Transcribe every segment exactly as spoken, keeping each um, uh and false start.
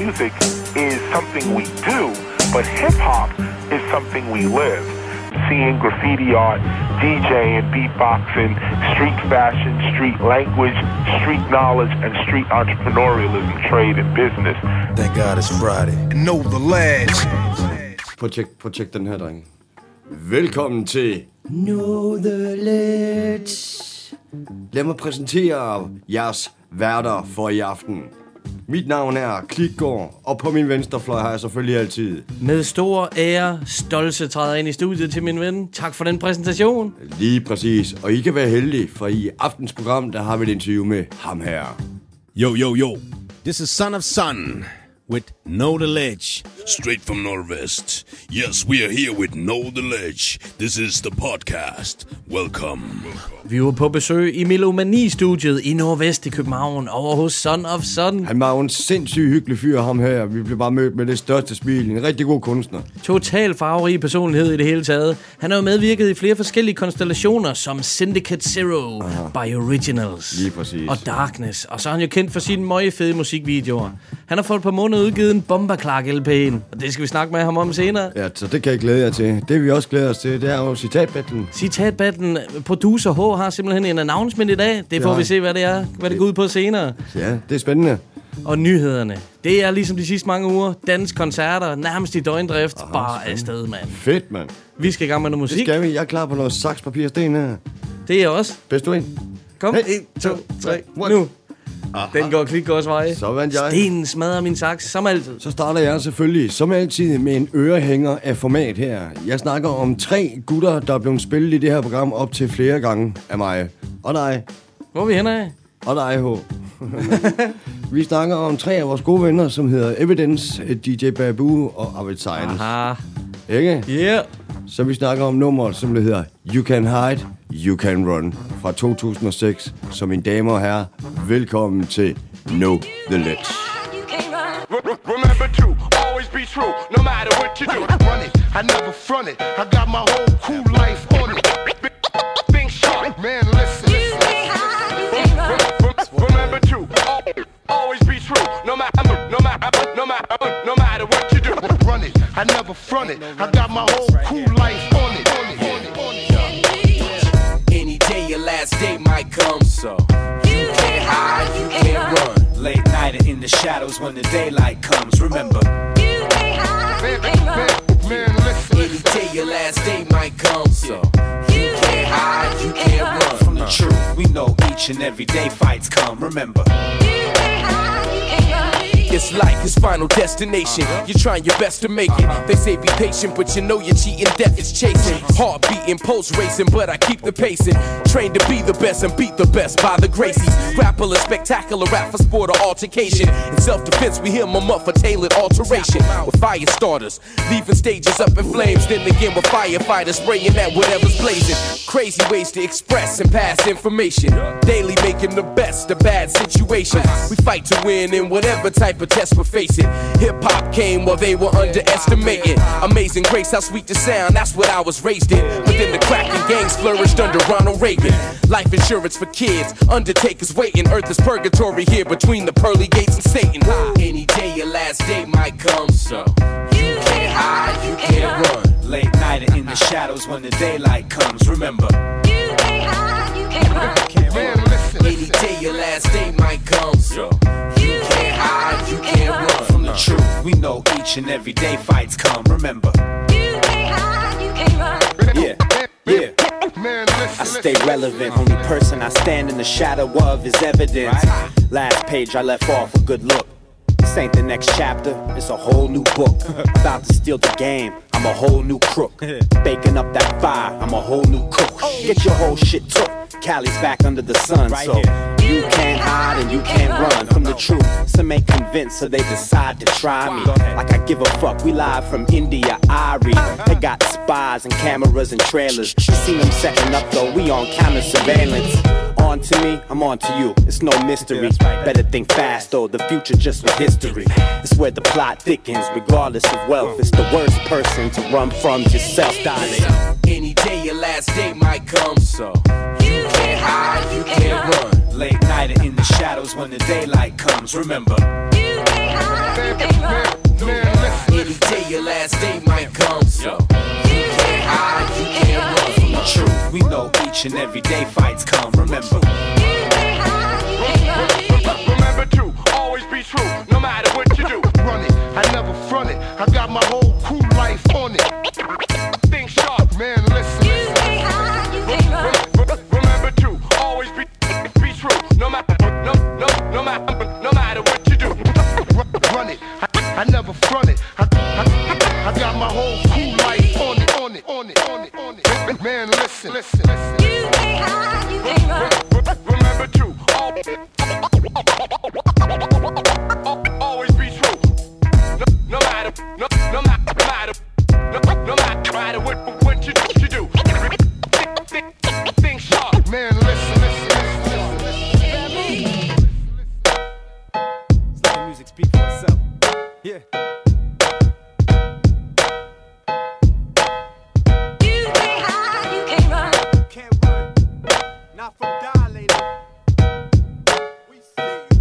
music is something we do, but hip-hop is something we live. Seeing graffiti art, DJing, beatboxing, street fashion, street language, street knowledge, and street entrepreneurialism, trade, and business. Thank God it's Friday. Know the lads. Prøv at tjek, prøv at tjek den her, dreng. Velkommen til Know the lads. Lad mig præsentere jeres værter for i aften. Mit navn er Klitgaard, og på min venstre fløj har jeg selvfølgelig altid Med stor ære, stolse træder ind i studiet til min ven. Tak for den præsentation. Lige præcis, og I kan være heldige, for i aftens program, der har vi et interview med ham her. Yo, yo, yo. This is Son of Sun with Know the Ledge. Straight from Northwest. Yes, we are here with Know the Ledge. This is the podcast. Welcome. Vi var på besøg i Melomani-studiet i Nordvest i København, over hos Son of Sun. Han var jo en sindssygt hyggelig fyr, ham her. Vi blev bare mødt med det største smil. En rigtig god kunstner. Total farverig personlighed i det hele taget. Han har jo medvirket i flere forskellige konstellationer, som Syndicate Zero, Aha. By Originals Lige præcis. og Darkness. Og så er han jo kendt for sine møgefede musikvideoer. Han har for et par måneder udgivet en Bomberclark-L P'en, og det skal vi snakke med ham om senere. Ja, så det kan jeg glæde jer til. Det vi også glæder os til, det er jo citatbattlen. Citatbattlen. Producer H har simpelthen en announcement i dag. Det får ja. vi se, hvad det er, hvad det går ud på senere. Ja, det er spændende. Og nyhederne. Det er ligesom de sidste mange uger. Dansk koncerter, nærmest i døgndrift. Aha, bare afsted, mand. Fedt, mand. Vi skal i gang med noget musik. Det skal vi. Jeg er klar på noget saks, papir, sten her. Det er jeg også. Bedst du en? Kom. Hey. En, to, tre. Nu. Aha. Den går Klitgaards vej. Så vandt jeg. Stenen smadrer min saks, som altid. Så starter jeg selvfølgelig, som altid, med en ørehænger af format her. Jeg snakker om tre gutter, der er blevet spillet i det her program op til flere gange af mig. Og dig. Hvor er vi henne af? Og dig, H. Vi snakker om tre af vores gode venner, som hedder Evidence, D J Babu og Arvid Science. Aha. Ikke? Yeah. Så vi snakker om nummeret, som det hedder You Can Hide, You Can Run fra to tusind og seks. Så mine damer og herrer, velkommen til Know the Ledge. Remember to always be true, no matter what you do. Run it, I never front it. I got my whole cool life on it. Think sharp, man, listen. Remember to always be true, no matter, no matter, no matter, no matter what you do. Run it, I never front it. I got my whole cool life on it. Any day your last day might come, so you can't hide, you can't run. Late night and in the shadows when the daylight comes. Remember, you can't hide, you can't run. Man, listen. Any day your last day might come, so you can't hide, you can't run from the truth. We know each and every day fights come. Remember, you can't hide, you can't run. It's life, it's final destination. You're trying your best to make it. They say be patient, but you know you're cheating. Death is chasing. Heart beating, pulse racing, but I keep the pacing. Trained to be the best and beat the best by the Gracies. Grapple a spectacular rap for sport or altercation. In self-defense, we hear them up for tailored alteration. With fire starters, leaving stages up in flames. Then again with firefighters spraying at whatever's blazing. Crazy ways to express and pass information. Daily making the best of bad situations. We fight to win in whatever type of test we're facing. Hip-hop came while they were underestimating. Amazing grace, how sweet the sound, that's what I was raised in. But then the cracking gangs flourished under Ronald Reagan. Life insurance for kids, undertakers waiting. Earth is purgatory here between the pearly gates and Satan. Any day your last day might come, so you can't hide, you can't run. Late night and in the shadows when the daylight comes. Remember, you can't hide, you can't run. Man, listen. Any day your last day might come, so you can't hide, you can't run from the truth. We know each and every day fights come. Remember, you can't hide, you can't run. Yeah, yeah. Man, listen. I stay relevant. Only person I stand in the shadow of is evidence. Last page I left off a good look. This ain't the next chapter, it's a whole new book. About to steal the game, I'm a whole new crook. Baking up that fire, I'm a whole new cook. Get your whole shit took. Cali's back under the sun, so you can't hide and you can't run from the truth. Some ain't convinced, so they decide to try me. Like I give a fuck, we live from India, Irie. They got spies and cameras and trailers. You seen them setting up though, we on camera surveillance. On to me, I'm on to you, it's no mystery. Better think fast though, the future just was history. It's where the plot thickens, regardless of wealth. It's the worst person to run from yourself, darling. Any day your last day might come, so you can't hide, you can't run. Late night hide it in the shadows when the daylight comes. Remember, you can't hide, you can't run. Any day your last day might come. So you can't hide, you can't run from the truth. We know each and every day fights come. Remember, you can't hide, you can't run. Remember to always be true, no matter what you do. Run it, I never front it. I got my whole crew life on it. Think sharp, man, listen. You can't hide, you can't run. Remember to always be be true, no matter no no no matter no matter what you do. Run it, I, I never front it. I, I, I got my whole crew life on it, on it, on it, on it, on it. Man, listen, listen, listen. You can't hide, you can't run. Remember to always be true, no, no matter no no matter no matter no, no matter what what you you do. Think, think, think sharp, man. Listen, listen, listen, listen. Let the music speak for itself. Yeah. You can't hide, you can't run. Can't run. Not from dilated. We see you.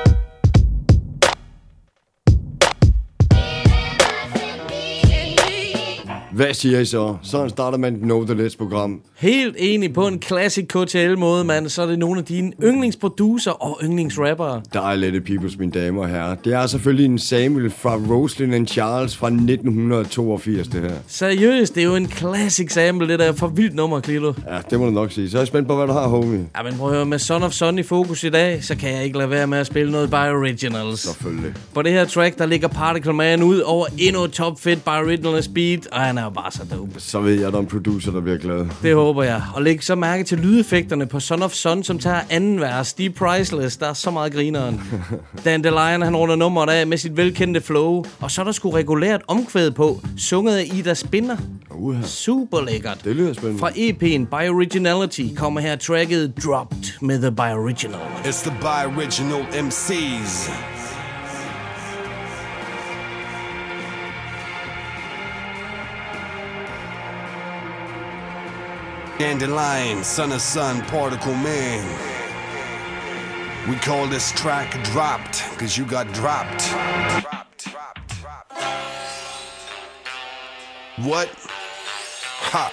Hvad siger I så? Sådan starter man et Know The Ledge-program. Helt enig på en classic K T L-måde, mand. Så er det nogle af dine yndlingsproducer og yndlingsrappere. Dejlige peoples, mine damer og herrer. Det er selvfølgelig en Samuel fra Roslyn and Charles fra nitten toogfirs, det her. Seriøst, det er jo en classic sample, det der for vildt nummer, Klilo. Ja, det må du nok sige. Så er jeg spændt på, hvad du har, homie. Ja, men prøv at høre, med Son of Sun i fokus i dag, så kan jeg ikke lade være med at spille noget by Originals. Selvfølgelig. På det her track, der ligger Particle Man ud over endnu et top fedt by Originals beat, og han er jo bare så dope. Så ved jeg, at der er en producer, der bliver glad. Det håber jeg. Og læg så mærke til lydeffekterne på Son of Sun, som tager anden vers. De er priceless. Der er så meget grineren. Dandelion, han runder nummeret af med sit velkendte flow. Og så er der sgu regulært omkvæd på, sunget af Ida Spinner. Uh-huh. Super lækkert. Det lyder spændende. Fra E P'en By Originality kommer her tracket Dropped med The By Original. It's the By Original M Cs. Dandelion, Son of Sun, Particle Man. We call this track Dropped, cause you got dropped. What? Ha.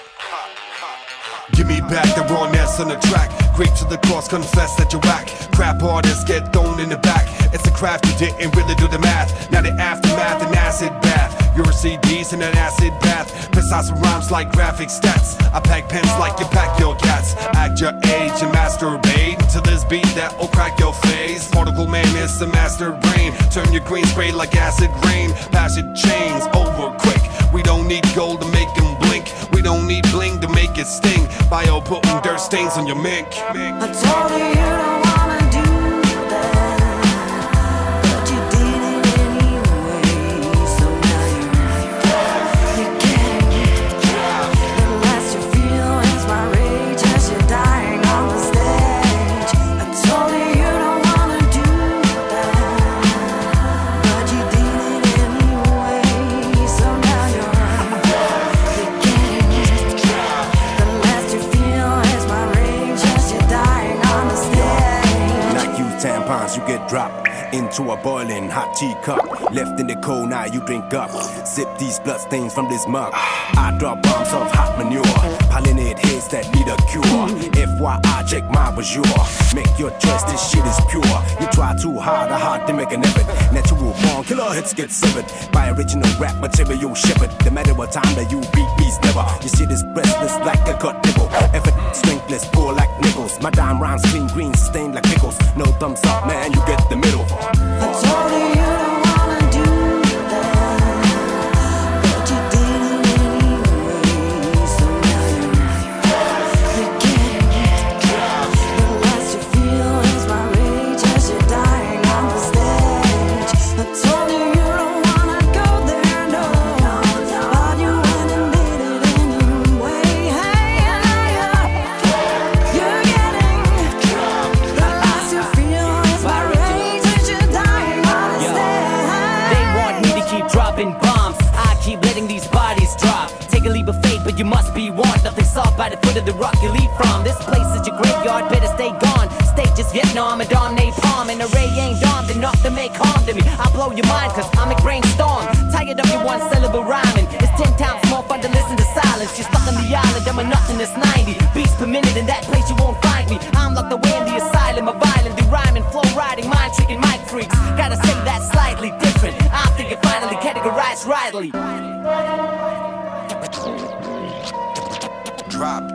Give me back the rawness on the track. Great to the cross, confess that you're whack. Crap artists get thrown in the back. It's a craft, you didn't really do the math. Now the aftermath, an acid bath. Your C Ds in an acid bath. Precise rhymes like graphic stats. I pack pens like you pack your cats. Act your age and masturbate to this beat that will crack your face. Particle Man is the master brain. Turn your green spray like acid rain. Pass it chains over quick. We don't need gold to make them blink. We don't need bling to make it sting. Bio putting dirt stains on your mink. I told you you don't wanna do that, but you did it anyway. So now you're, you're getting it. The less you feel is my rage as you're dying on the stage. I told you you don't wanna do that, but you did it anyway. So now you're, you're getting it. The less you feel is my rage as you're dying on the stage. Not use tampons, you get dropped into a boiling hot teacup. Left in the cold, now you drink up. Sip these bloodstains from this mug. I drop bombs of hot manure. Pollinate heads that need a cure. F Y I, check my bonjour. Make your choice, this shit is pure. You try too hard, a hard to make an effort. Natural born killer hits get severed by original rap material shepherd. The matter what time that you beat me's never. Your shit is breathless like a cut nipple. Effort strengthless, poor like nickels. My dime rhymes clean green, stained like pickles. No thumbs up, man, you get the middle. I told you you don't wanna do that, but you did it anyway. So now you're, you're getting it. The less you feel is my rage as you're dying on the stage. I told you you don't wanna go there, no, but you went and did it anyway. Hey, you're, you're getting the less you feel is my rage as you're dying on the stage. They want me to keep dropping bombs. I keep letting these bodies drop. Take a leap of faith, but you must be warned. Nothing soft by the foot of the rock you leap from. This place is your graveyard, better stay gone. Stage is Vietnam Ramadan, napalm, and the ray ain't dawned enough to make harm to me. I'll blow your mind, cause I'm a brainstorm. Tired of your one syllable rhyming. It's ten times more fun to listen to silence. You're stuck on the island, I'm a nothing that's ninety beats per minute. In that place you won't find me. I'm locked away in the asylum of violent, the rhyming, flow riding, mind tricking, mic freaks. Gotta say that's slightly different. I think it finally categorized rightly. Dropped.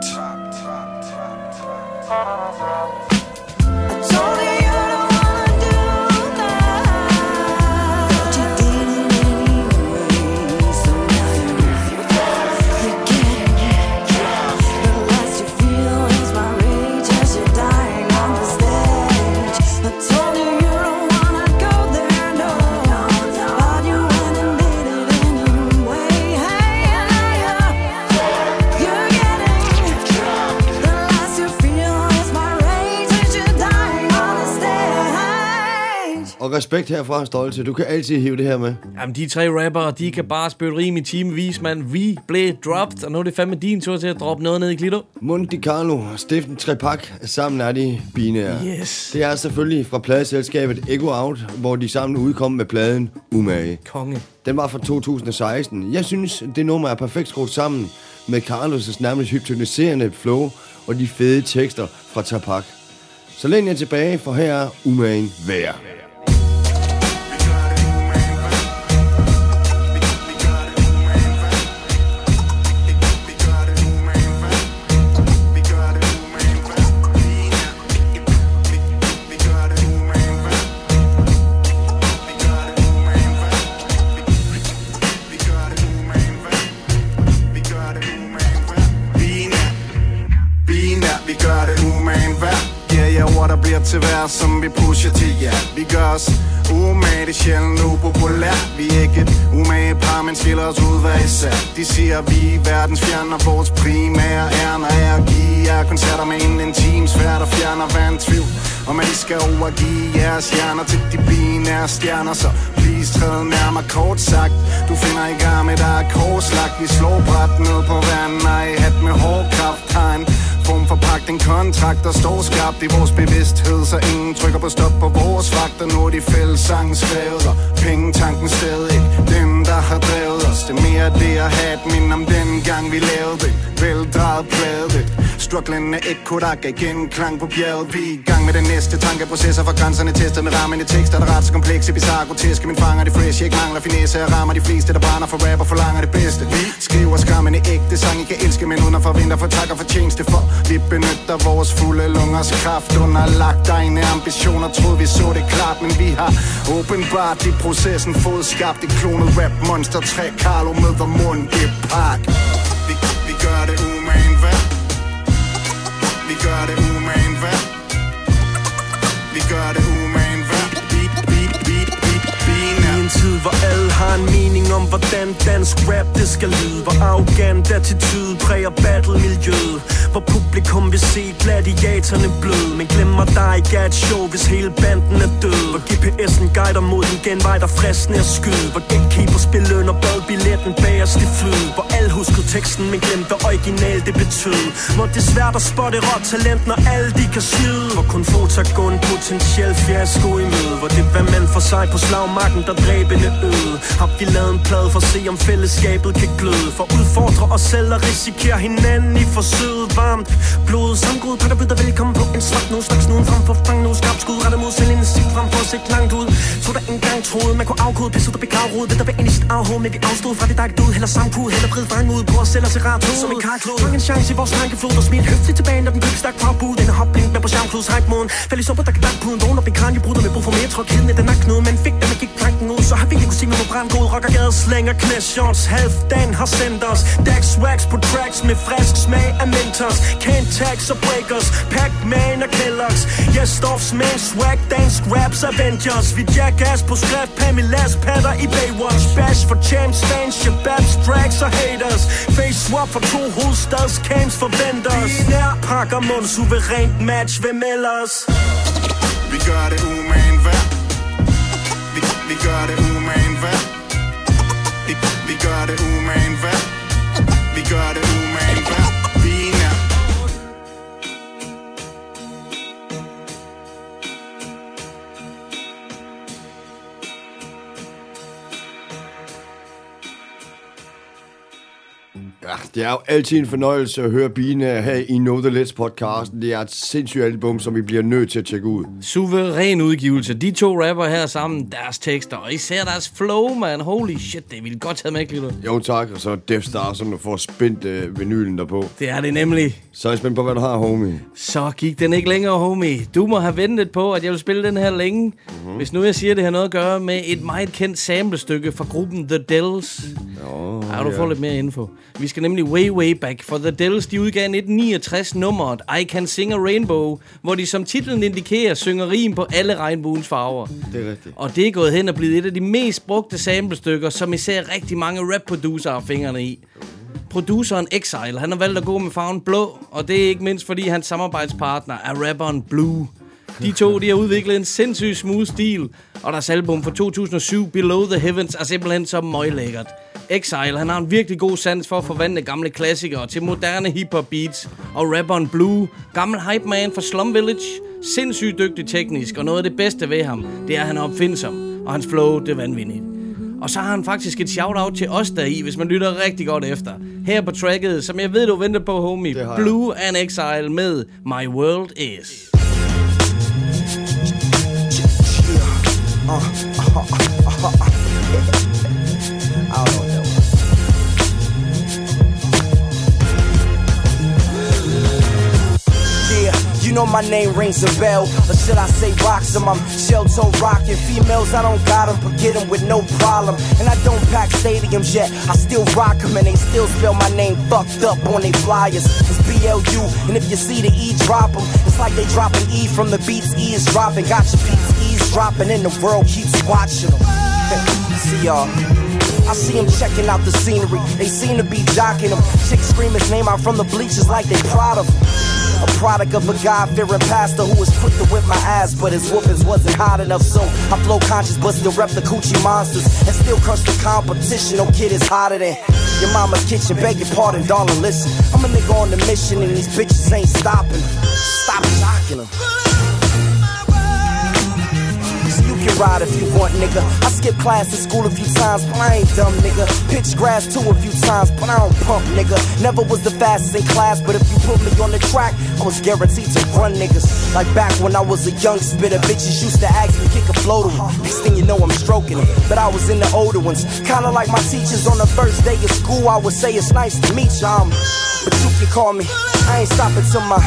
Og respekt herfra, Stolte. Du kan altid hive det her med. Jamen, de tre rappere, de kan bare spille rim i timevis, mand. Vi blev dropped, og nu er det fandme din tur til at droppe noget ned i Klito. Monte Carlo og Steffen Trepak, sammen er de binære. Yes. Det er selvfølgelig fra pladeselskabet Ego Out, hvor de sammen udkom med pladen Umage. Konge. Den var fra to tusind og seksten. Jeg synes, det nummer er perfekt skruet sammen med Carlos' nærmest hypnotiserende flow og de fede tekster fra Trepak. Så læn jer tilbage, for her er Umagen værd. Til hver, som vi pusher til jer. Vi gør os umage, det er sjældent upopulært. Vi er ikke et umage par, men skiller os ud hver især. De siger, vi er verdens fjerner. Vores primære ærner er at give jer koncerter med en intim sfære, der fjerner hver en tvivl. Om at I skal overgive jeres hjerner til de binære stjerner. Så please træd nærmere, kort sagt. Du finder i garme, der er korslagt. Vi slår bræt ned på vandet, og i hat med hård kraft. Tegn form forpagt en kontrakt, der står skarpt i vores bevidsthed, så ingen trykker på stop på vores vagter. Nu er de fællessangen skrevet, og pengetanken stadig ikke dem, der har drevet os. Det er mere det at have et mind om den gang vi lavede det. Veldrejet plade det. Strugglen er ikke kodak, igen klang på bjerget. Vi er i gang med den næste tankeprocesser, for grænserne testet med rammende tekster, der er ret så komplekse, bizarre, groteske. Min fanger det fresh, jeg ikke mangler finesse. Jeg rammer de fleste, der brænder for rap og forlanger det bedste. Vi skriver skræmmende ægte sang, I kan elske, men uden at forvente for tak og fortjeneste for. Vi benytter vores fulde lungers kraft underlagt egne ambitioner. Troede vi så det klart, men vi har åbenbart i processen fået skabt et klonet rap monster. Tre Carlo møder Monte Park. Vi, vi gør det umagen værd. Vi gør det umagen værd. Vi gør det umagen værd. Vi, vi, vi, vi, vi I en tid, hvor alle har en mening om, hvordan dansk rap det skal lyde. Hvor arrogant attitude præger battle-miljøet. Hvor publikum vil se gladiatorerne bløde. Men glemmer der ikke er et show, hvis hele banden er død. Hvor G P S'en guider mod en genvej, der fristende at skyde. Hvor gatekeeper spiller under badbilletten bagerst i flyet. Hvor alle huskede teksten, men glemte original det betød. Hvor det er svært at spotte råt talent, når alle de kan skyde. Hvor kun få tager gå en potentiel fiasko i møde. Hvor det var mand for sig på slagmarken, der dræbende øde. Har vi lavet en plade for at se, om fællesskabet kan gløde. For udfordre os selv og risikere hinanden i forsøget. Varmt blod, sammengrud, pakker byder velkommen på en svart nu. Straks nu frem for fang nu, skarp skud, rettet mod selv en sigt frem for at se langt ud. Så der engang troede, man kunne afkode, pisset og begravrod. Ved der var ind i sit afhånd, men vi afstod fra det, der ikke død. Heller samkud, heller vrid fange ud på os selv og se rart ud. Som en karklod, fang en chance i vores tankeflod. Og smid høftigt tilbage, når den køb stak fra bud. Den er hopblink med på skærmklods hype-moden. Fæld i sumper, der kan danke puden. Vågn op en kran, jeg bryder med brug for mere tryk. Kiden i den er knude, men fik dem, man gik planken ud. Så har vi ikke kunne sige, man må brænde god. Rockergade slænger knæshots. Halvdan har sendt os Dax wax på tracks med frisk smag af Mentos. Can't tax og breakers, Pac-Man og Kellogg's. Yes, Stoffs man, swag, dansk raps, Avengers. Vi jackass på skrift, Pamilas patter i Baywatch. Bash for champs, fans, shababs, drags og haters. Face swap for to hovedstads, camps forventers. Nær pakker mund, suverænt match, hvem ellers? Vi gør det umagen værd. Vi, vi gør det umagen værd. Vi, vi gør det umagen værd. Vi gør det umagen værd. Vi er det er jo altid en fornøjelse at høre Bine her i Know The Ledge podcasten. Det er et sindssygt album, som vi bliver nødt til at tjekke ud. Suveræn udgivelse. De to rapper her sammen, deres tekster, og især deres flow, man. Holy shit, det vil godt have med, Glitter. Jo tak, og så Death Star, som du får spændt øh, vinylen derpå. Det er det nemlig. Så er jeg spændt på, hvad du har, homie. Så gik den ikke længere, homie. Du må have ventet på, at jeg vil spille den her længe. Mm-hmm. Hvis nu jeg siger, det har noget at gøre med et meget kendt samlestykke fra gruppen The Dells. Oh, ja, du får ja. lidt mere info. Vi skal nemlig way, way back, for The Dells, de udgav nitten niogtres nummeret I Can Sing a Rainbow, hvor de som titlen indikerer, synger rim på alle regnbuens farver. Det er rigtigt. Og det er gået hen og blevet et af de mest brugte samlestykker, som især rigtig mange rap-producer har fingrene i. Produceren Exile, han har valgt at gå med farven blå, og det er ikke mindst fordi hans samarbejdspartner er rapperen Blue. De to, de har udviklet en sindssygt smooth stil, og deres album fra to tusind og syv, Below the Heavens, er simpelthen så møglækkert. Exile, han har en virkelig god sans for at forvandle gamle klassikere til moderne hip-hop beats, og rapperen Blue, gammel hype man fra Slum Village, sindssygt dygtig teknisk, og noget af det bedste ved ham, det er, at han er opfindsom, og hans flow, det er vanvittigt. Og så har han faktisk et shout-out til os deri, hvis man lytter rigtig godt efter. Her på tracket, som jeg ved, du venter på, homie. Blue and Exile med My World Is. Uh, uh, uh, uh, uh, uh. I don't know. Yeah, you know my name rings a bell, or should I say rocks them? I'm shell-toe rocking females, I don't got them, but get them with no problem. And I don't pack stadiums yet, I still rock them, and they still spell my name fucked up on they flyers. It's B L U, and if you see the E, drop them. It's like they dropping E from the beats, E is dropping. Got your beats, E's dropping, and the world keeps watching them. See y'all. I see them checking out the scenery. They seem to be jocking them. Chicks scream his name out from the bleachers like they proud of him. A product of a God-fearing pastor who was quick to whip my ass, but his whoopings wasn't hot enough, so I flow conscious but still rep the coochie monsters and still crush the competition. No kid is hotter than your mama's kitchen. Beg your pardon, darling, listen. I'm a nigga on the mission and these bitches ain't stopping. Stop shocking them. You can ride if you want, nigga. I skipped class in school a few times, but I ain't dumb, nigga. Pitched grass too a few times, but I don't pump, nigga. Never was the fastest in class, but if you put me on the track, I was guaranteed to run niggas. Like back when I was a young spitter, bitches used to ask me kick a flow to them. Next thing you know, I'm stroking it, but I was in the older ones. Kinda like my teachers on the first day of school, I would say it's nice to meet you, um, but you can call me. I ain't stopping till my...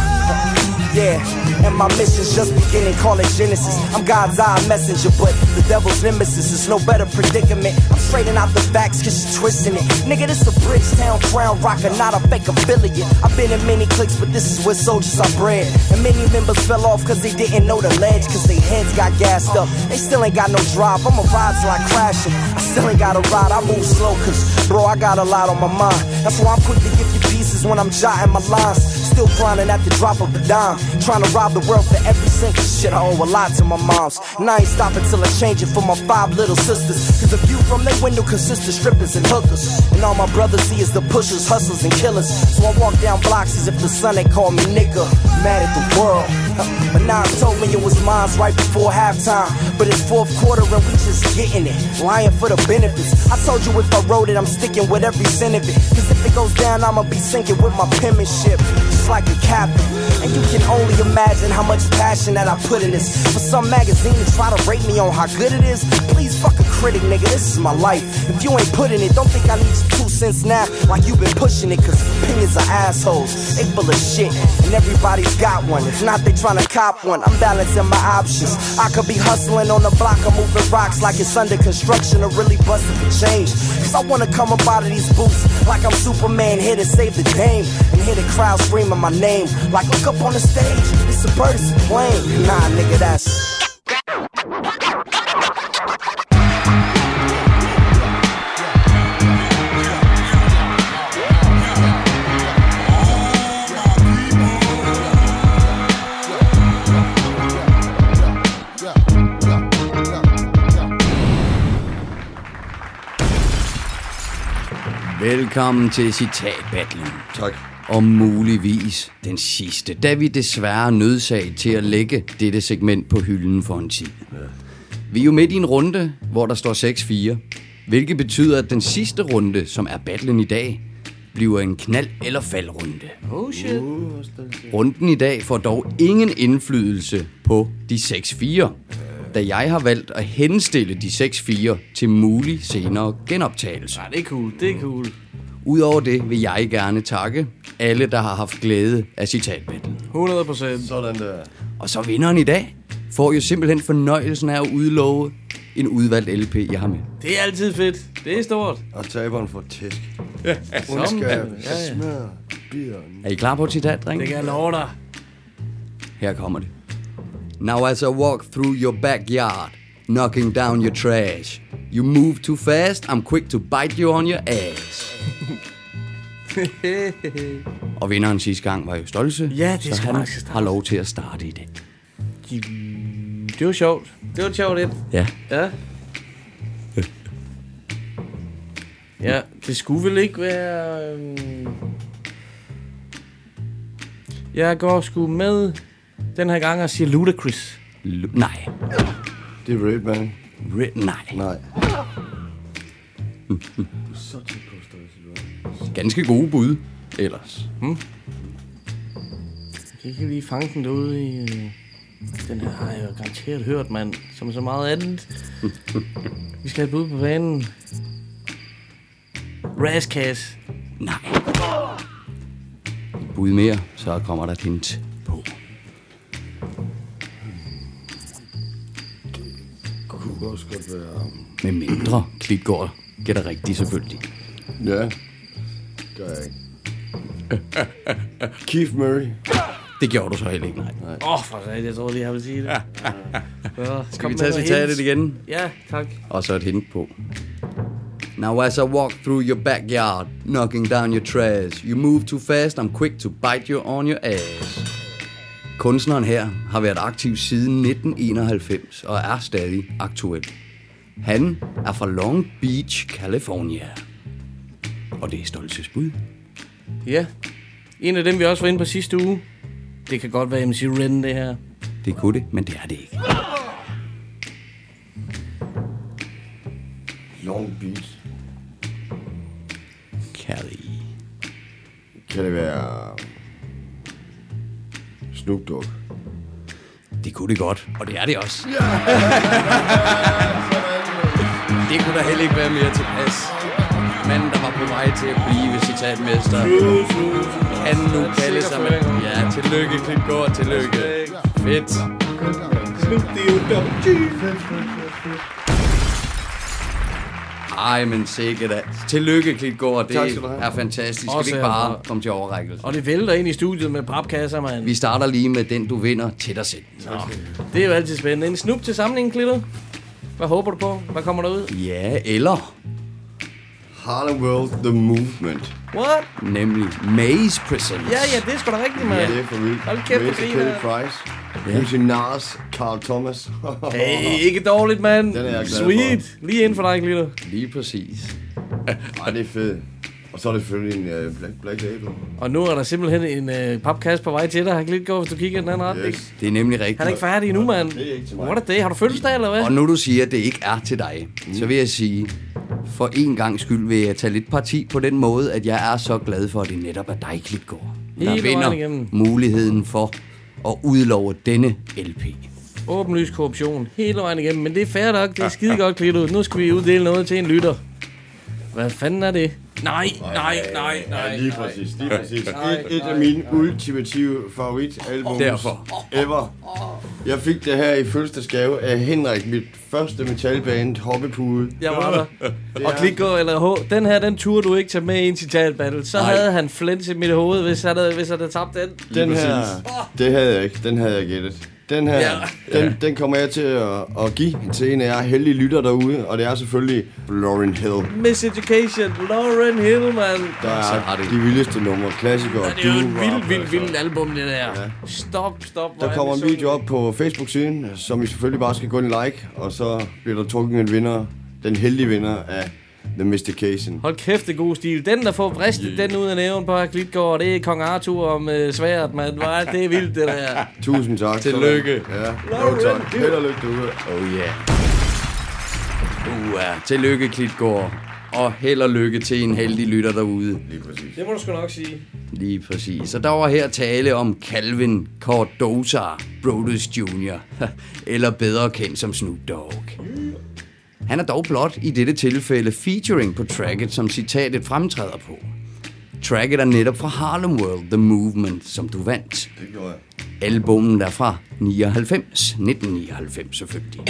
Yeah, and my mission's just beginning, call it Genesis. I'm God's eye messenger, but the devil's nemesis is no better predicament. I'm straightening out the facts cause you're twisting it. Nigga, this a Bridgetown crown rocker, not a fake affiliate. I've been in many cliques, but this is where soldiers are bred. And many members fell off cause they didn't know the ledge, cause their heads got gassed up. They still ain't got no drive, I'ma ride till I crash it. I still ain't got a ride, I move slow cause, bro, I got a lot on my mind. That's why I'm quick to give you pieces when I'm jotting my lines. Still grinding at the drop of a dime. Trying to rob the world for every single shit. I owe a lot to my moms, and I ain't stopping till I change it for my five little sisters. Cause the view from their window consists of strippers and hookers, and all my brothers see is the pushers, hustlers, and killers. So I walk down blocks as if the sun ain't called me nigga. Mad at the world, but now it told me it was mine right before halftime. But it's fourth quarter and we just getting it, lying for the benefits. I told you if I wrote it, I'm sticking with every cent of it. Cause if it goes down, I'ma be sinking with my penmanship, just like a captain. And you can only imagine how much passion that I put in this. For some magazine to try to rate me on how good it is, please fuck a critic, nigga, this is my life. If you ain't putting it, don't think I need your two cents now like you been pushing it, cause opinions are assholes. They full of shit, and everybody's got one. If not, they tryna cop one. I'm balancing my options. I could be hustling on the block or moving rocks like it's under construction or really busting for change. Cause I wanna come up out of these boots like I'm Superman, here to save the game, and hear the crowd screaming my name. Like, look up on the stage, it's a bird, it's a plane. Nah, nigga, that's... Velkommen til citatbattlen. Tak. Og muligvis den sidste, da vi desværre nødsaget til at lægge dette segment på hylden for en tid. Ja. Vi er jo midt i en runde, hvor der står seks fire, hvilket betyder, at den sidste runde, som er battlen i dag, bliver en knald- eller faldrunde. Oh shit. Runden i dag får dog ingen indflydelse på de seks fire, da jeg har valgt at henstille de seks fire til mulig senere genoptagelse. Ja, det er cool, det er cool. Udover det vil jeg gerne takke alle, der har haft glæde af citatbattlen. hundrede procent. Sådan der. Og så vinderen i dag får jo simpelthen fornøjelsen af at udlove en udvalgt L P, jeg har med. Det er altid fedt. Det er stort. Og taberen får tæsk. Ja, Ondskab, ja, ja. smør, bideren. Er I klar på et citat, drenge? Det kan jeg love dig. Her kommer det. Now as I walk through your backyard, knocking down your trash, you move too fast, I'm quick to bite you on your ass. Og vinderen sidste gang var jo Stolse, Ja, det så skal han nok starte. har lov til at starte i dag. Det var sjovt. Det var sjovt, et. Ja. Ja. Ja, det skulle vel ikke være... Øhm... Jeg går sgu med den her gang og siger Ludacris. Lu- nej. Det er Redman. Re- nej. Nej. Så tæt på størrelse. Ganske gode bud, ellers. Hmm? Jeg kan ikke lige fange den derude i... Øh... Den her har jeg jo garanteret hørt, mand. Som så meget andet. Vi skal have et bud på banen. Razzcast. Nej. Et bud mere, så kommer der et hint på. Det kunne også godt være... Med mindre Klitgaard gætter rigtigt, selvfølgelig. Ja. Gør jeg ikke. Keith Murray. Det gjorde du så heller ikke, nej. Åh, oh, for sat, jeg tror lige, jeg vil sige det. Ja, Skal vi tage citatet igen? Ja, tak. Og så et hint på. Now as I walk through your backyard, knocking down your trash, you move too fast, I'm quick to bite you on your ass. Kunstneren her har været aktiv siden nitten enoghalvfems og er stadig aktuel. Han er fra Long Beach, California. Og det er Stolses bud. Ja. En af dem, vi også var inde på sidste uge. Det kan godt være M C Ren, det her. Det kunne det, men det er det ikke. Long Beach. Cali. Kan det være... Snoop Dogg? Det kunne det godt, og det er det også. Det kunne der heller ikke være mere tilpas. Manden, der var på vej til at blive citatmester, kan nu kalde sig med... Ja, tillykke, Klitgaard, tillykke. Fedt. Ej, men sikkert da. Tillykke, Klitgaard. Det er fantastisk. Skal vi ikke bare komme til overrækkelse? Og det vælter ind i studiet med papkasser, mand. Vi starter lige med den, du vinder til dig selv. Nå, det er jo altid spændende. En snup til samlingen, Klitto. Hvad håber du på? Hvad kommer der ud? Ja, eller... Harlem World The Movement. What? Nemlig Maze Presents. Ja, ja, det er sgu da rigtigt, mand. Ja, det er for vildt. Hold kæft, hvor Maze griner. Kelly Price. Ja. M C Nas, Carl Thomas. Hey, ikke dårligt, mand. Den er jeg glad Sweet. Lige inden for dig, Klitto. Lige præcis. Ej, det er fedt. Og så er det selvfølgelig en uh, Black, Black Label. Og nu er der simpelthen en uh, papkasse på vej til dig. Har Klitgaard, hvis du kigger i den anden retning. Yes. Det er nemlig rigtigt. Han er ikke færdig endnu, mand. Det er ikke til mig. What a day. Har du fødselsdag, eller hvad? Og nu du siger, at det ikke er til dig, mm. så vil jeg sige, for en gang skyld vil jeg tage lidt parti på den måde, at jeg er så glad for, at det netop er dig, Klitgaard, der Hele vejen vinder igennem. muligheden for at udlove denne L P. Åbenlys korruption. Hele vejen igennem. Men det er fair nok. Det er skide godt, Klitto. Nu skal vi uddele noget til en lytter. Hvad fanden er det? Nej, nej, nej, nej. Ja, lige præcis, lige præcis. Et, et af mine ultimative favoritalbum Derfor. ever. Jeg fik det her i fødselsdagsgave af Henrik, mit første metalband, Hoppepude. Jeg var der. Og Klitgaard, eller H, den her, den turde du ikke tage med i en citatbattle. Så Nej. havde han flens i mit hoved, hvis han havde, hvis han havde tabt den. Den her, det havde jeg ikke, den havde jeg gættet. Den her, Ja. den, den kommer jeg til at, at give til en af jer heldige lytter derude, og det er selvfølgelig Lauryn Hill. Miseducation, Lauryn Hill, man. Der er de vildeste numre, klassikere. Ja, det er jo et doo-wop, vildt, vildt, altså. vildt album, det der. Stop, stop. hvor Der er kommer vi en video så- op på Facebook-siden, som I selvfølgelig bare skal gå ind og like, og så bliver der trukket en vinder, den heldige vinder af The Mystication. Hold kæft, det er god stil. Den, der får vristet yeah. den ud af næven på Klitgaard, det er Kong Arthur om øh, sværet, mand. Hvor er det vildt, det der. Tusind tak. Tillykke. Ja, jo tak. Held og lykke derude. Oh yeah. Uh, tillykke, Klitgaard. og held og lykke til en heldig lytter derude. Lige præcis. Det må du sgu nok sige. Lige præcis. Så der var her tale om Calvin Cardoza Brodus junior eller bedre kendt som Snoop Dogg. Han er dog blot i dette tilfælde featuring på tracket, som citatet fremtræder på. Tracket er netop fra Harlem World, The Movement, som du vandt. Det gjorde jeg. Albummen er fra nioghalvfems, nitten nioghalvfems selvfølgelig.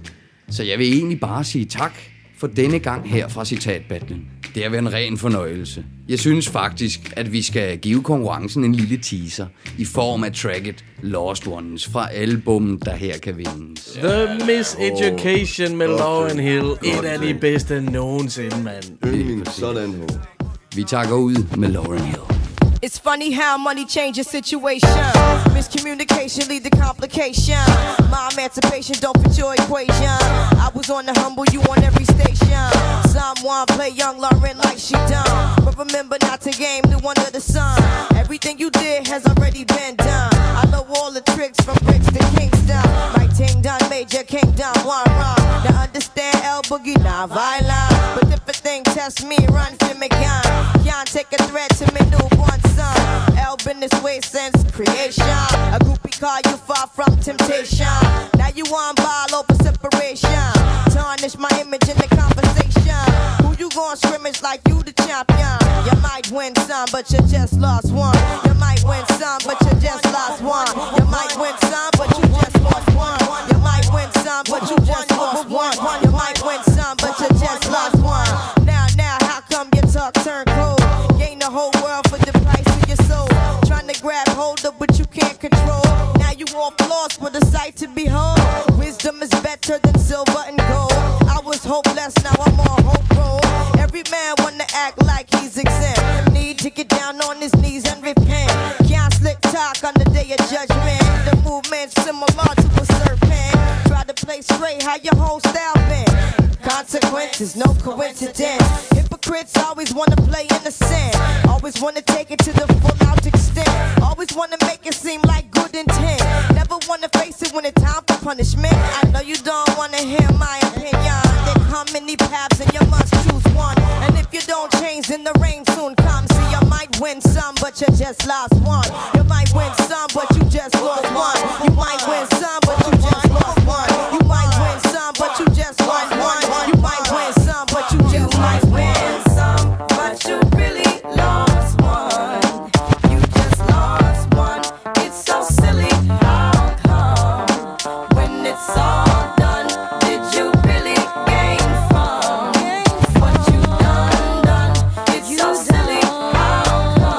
Så jeg vil egentlig bare sige tak for denne gang her fra Citatbattlen. Det har været en ren fornøjelse. Jeg synes faktisk, at vi skal give konkurrencen en lille teaser i form af tracket Lost Ones fra albummet, der her kan vindes. The Miseducation med Lauryn Hill. Et af de bedste nogensinde, mand. Yndling, sådan ho. Vi takker ud med Lauryn Hill. It's funny how money changes situation. Miscommunication lead to complication. My emancipation don't fit your equation. I was on the humble, you on every station. Someone play young Lauren like she done, but remember not to game new under the sun. Everything you did has already been done. I know all the tricks from bricks to Kingston. My ting done, major kingdom, one run. Now understand L Boogie, not violent, but if a thing test me, run for me gun. Can't take a threat to me newborn son. L been this way since creation. A groupie call you far from temptation. Now you on ball over separation. Tarnish my image in the conversation. Who you gon' scrimmage like you the champion? You might win some, but you just lost one. You might win some, but you just lost one. You might win some, but you just lost one. You might win some, but you just lost one. You might win some, but you just lost one. Now, now, how come your talk turn cold? Gain the whole world for the price of your soul. Trying to grab hold of what you can't control. Now you all lost with a sight to behold. Wisdom is better than silver and gold. I was hopeless, now I'm on hope roll. Every man wanna act like he's exempt. Need to get down on his knees and repent. Can't slick talk on the day of judgment. The movement's similar to a serpent. Try to play straight, how your whole style been. Consequences, no coincidence. Hypocrites always wanna play innocent. Always wanna take it to the full out extent. Always wanna make it seem like good intent. Never wanna face it when it's time for punishment. I know you don't wanna hear my opinion. There come many paths and you must choose one. And if you don't change, then the rain soon comes. See, you might win some, but you just lost one. You might win some, but you just lost one. You might win some, but you just lost one. You might win some, but you just lost one. You might win some, but you just lost one. Some, but you really lost one. You just lost one. It's so silly. How come when it's all done, did you really gain from what you done done? It's so silly. How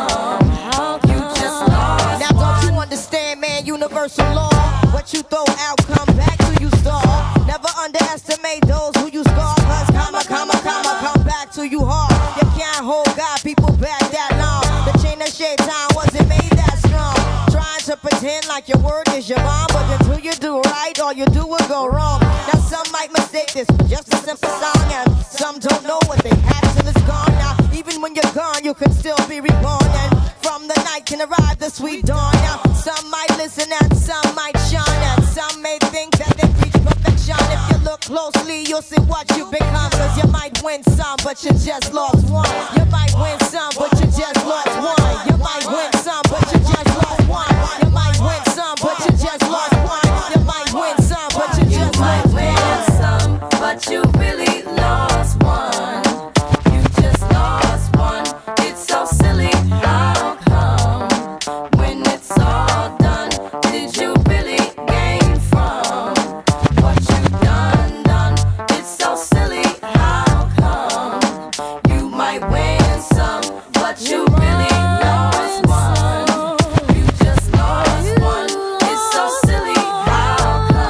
come you just lost? Now don't you understand, man? Universal law. What you throw out, come back to you stall. Never underestimate those who you scar. Cause comma, comma, comma, come back to you hard. You can't hold God, people back that long. The chain of shaitan wasn't made that strong. Trying to pretend like your word is your bond, but until you do right, all you do will go wrong. Now some might mistake this for just a simple song, and some don't know what they had till it's gone. Now even when you're gone, you can still be reborn, and from the night can arrive the sweet dawn. Now some might listen and some might shine, and some may think that they reach perfection. If you look closely, you'll see what you become. Cause you might win some, but you just lost one. You might win some, but you just lost one. You might win some, but you just lost one. You might win some, but you just lost one. You might win some, but you just lost Win one. some, but you really lost one. You just lost one. It's so silly. How come when it's all done, did you really gain from what you done done? It's so silly. How come you might win some, but you really lost one? You just lost one. It's so silly. How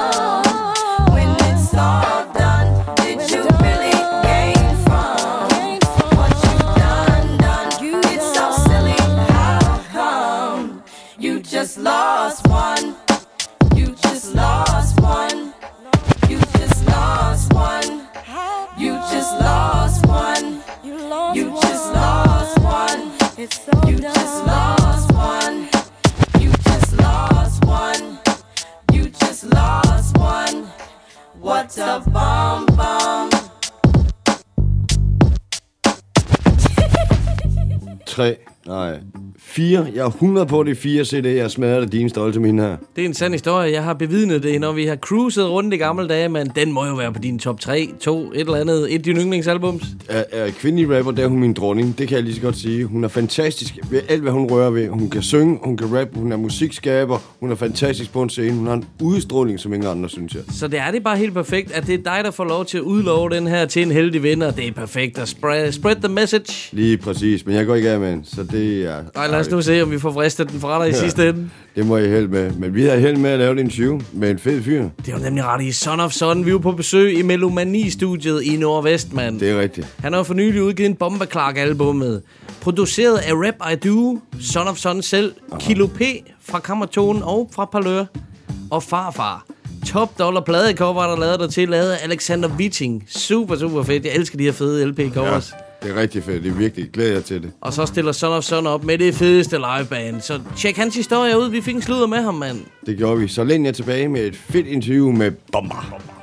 come when it's all done, did you really gain from what you done done? It's so silly. How come you just lost one? You just lost one. You just lost one. You just lost one. You just lost one. You just lost one. You just lost one. You just lost one. What a bomb bomb. tre, nej, fire. Jeg er hundrede på de fire C D'er, jeg smadrer det din stolte mine her. Det er en sand historie. Jeg har bevidnet det, når vi har cruiset rundt i gamle dage, men den må jo være på din top tre, to, et eller andet, et af dine yndlingsalbums. Er, er kvindelig rapper, der er hun min dronning. Det kan jeg lige så godt sige. Hun er fantastisk ved alt, hvad hun rører ved. Hun kan synge, hun kan rappe, hun er musikskaber, hun er fantastisk på en scene. Hun har en udstråling, som ingen andre, synes jeg. Så det er det bare helt perfekt, at det er dig, der får lov til at udlove den her til en heldig vinder. Det er perfekt at spread, spread the message. Lige præcis, men jeg går ikke af med den, så det er... Ej, lad os nu se, om vi får fristet den fra dig i ja, sidste ende. Det må jeg held med. Men vi har held med at lave det interview med en fed fyr. Det er jo nemlig ret i Son of Son. Vi er på besøg i Melomani-studiet i Nordvest, mand. Det er rigtigt. Han har for nylig udgivet en Bomba Clark-albummet. Produceret af Rap I Do, Son of Son selv, aha, Kilo P fra Kammertonen og fra Parlør. Og Farfar. Top dollar pladecover, der lavede der til, lavet af Alexander Witting. Super, super fedt. Jeg elsker de her fede L P-covers. Ja, det er rigtig fedt. Det er virkelig. Glæder jeg til det. Og så stiller Son of Son op med det fedeste liveband. Så tjek hans historie ud. Vi fik en sludder med ham, mand. Det gjorde vi. Så læn jeg tilbage med et fedt interview med Bomba.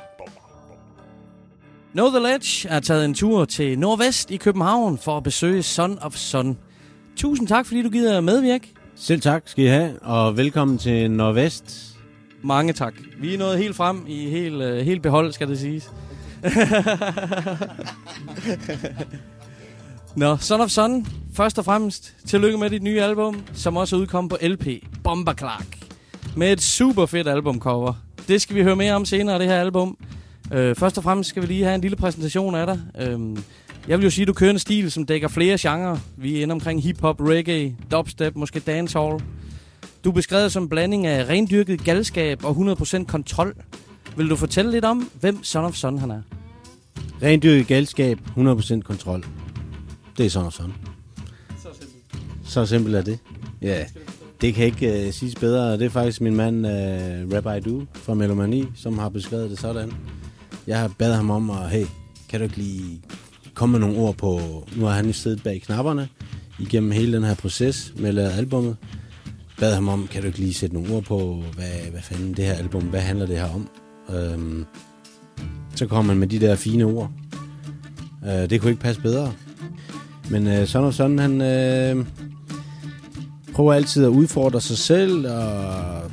Know The Ledge er taget en tur til Nordvest i København for at besøge Son of Son. Tusind tak, fordi du gider medvirke. Selv tak skal I have, og velkommen til Nordvest. Mange tak. Vi er nået helt frem i helt, uh, helt behold, skal det siges. Nå, Son of Son. Først og fremmest, tillykke med dit nye album, som også er udkommet på L P. Bomba Clark. Med et super fedt albumcover. Det skal vi høre mere om senere, det her album. Uh, først og fremmest skal vi lige have en lille præsentation af dig. Uh, jeg vil jo sige, at du kører en stil, som dækker flere genrer. Vi er inde omkring hip-hop, reggae, dubstep, måske dancehall. Du er beskrevet som en blanding af rendyrket galskab og hundrede procent kontrol. Vil du fortælle lidt om, hvem Son of Son han er? Rendyrket galskab, hundrede procent kontrol. Det er Son of Son. Så simpelt. Så simpelt er det. Ja, det kan ikke uh, siges bedre. Det er faktisk min mand, uh, Rap I Do fra Melomani, som har beskrevet det sådan. Jeg har badet ham om, og hey, kan du ikke lige komme med nogle ord på... Nu har han jo siddet bag knapperne igennem hele den her proces med at lave albummet. Bad ham om, kan du ikke lige sætte nogle ord på, hvad, hvad fanden det her album, hvad handler det her om? Øhm, så kom man med de der fine ord. Øh, det kunne ikke passe bedre. Men øh, sådan og sådan, han øh, prøver altid at udfordre sig selv og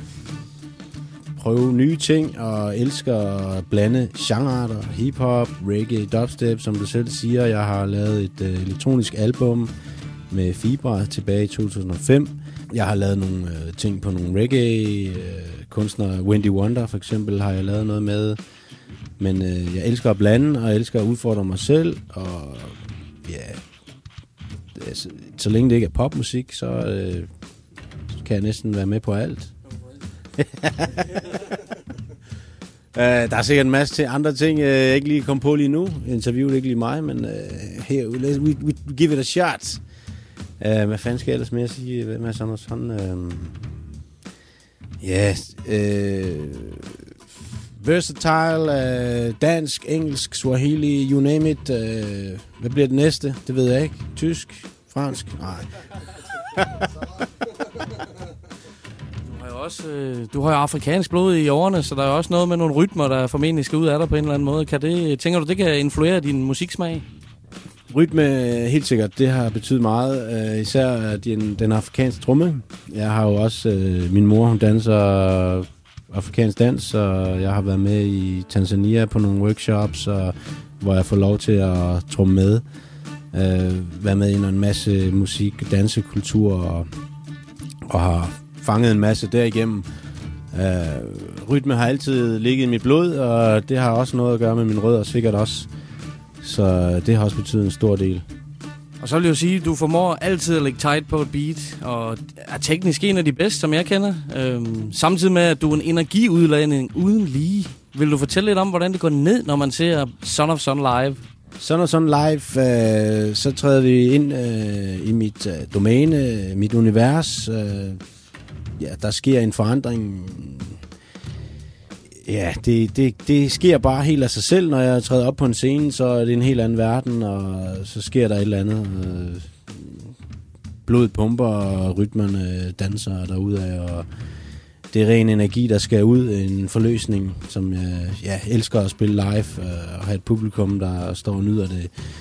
prøve nye ting og elsker at blande genrearter, hip-hop, reggae, dubstep, som du selv siger. Jeg har lavet et øh, elektronisk album med Fibra tilbage i to tusind og fem. Jeg har lavet nogle øh, ting på nogle reggae-kunstnere. Øh, Wendy Wonder for eksempel har jeg lavet noget med. Men øh, jeg elsker at blande, og jeg elsker at udfordre mig selv. Og ja, altså, så længe det ikke er popmusik, så øh, kan jeg næsten være med på alt. Uh, der er sikkert en masse til andre ting, uh, jeg ikke lige kom på lige nu. Interviewet ikke lige mig, men uh, her, we, we give it a shot. Uh, hvad fanden skal jeg ellers mere sige? Hvem er sådan og sådan? Uh, ja, yeah, uh, versatile, uh, dansk, engelsk, swahili, you name it. Uh, hvad bliver det næste? Det ved jeg ikke. Tysk? Fransk? Nej. Også, øh, du har jo afrikansk blod i årene, så der er også noget med nogle rytmer, der formentlig skal ud af dig på en eller anden måde. Kan det, tænker du, det kan influere din musiksmag? Rytme, helt sikkert, det har betydet meget. Øh, især den, den afrikanske tromme. Jeg har jo også, øh, min mor, hun danser afrikansk dans, og jeg har været med i Tanzania på nogle workshops, og, hvor jeg får lov til at tromme med. Øh, være med i en masse musik, dansekultur, og, og har fanget en masse derigennem. Uh, rytme har altid ligget i mit blod, og det har også noget at gøre med min rødder, sikkert også. Så det har også betydet en stor del. Og så vil jeg jo sige, at du formår altid at lægge tight på et beat, og er teknisk en af de bedste, som jeg kender. Uh, samtidig med, at du er en energiudladning uden lige. Vil du fortælle lidt om, hvordan det går ned, når man ser Son of Son live? Son of Son live, øh, så træder vi ind øh, i mit øh, domæne, mit univers. Øh, ja, der sker en forandring. Ja, det, det, det sker bare helt af sig selv. Når jeg træder op på en scene, så er det en helt anden verden, og så sker der et eller andet. Øh, blodet pumper, og rytmerne danser derudad, og det er ren energi, der skal ud. En forløsning, som jeg ja, elsker at spille live, øh, og have et publikum, der står og nyder det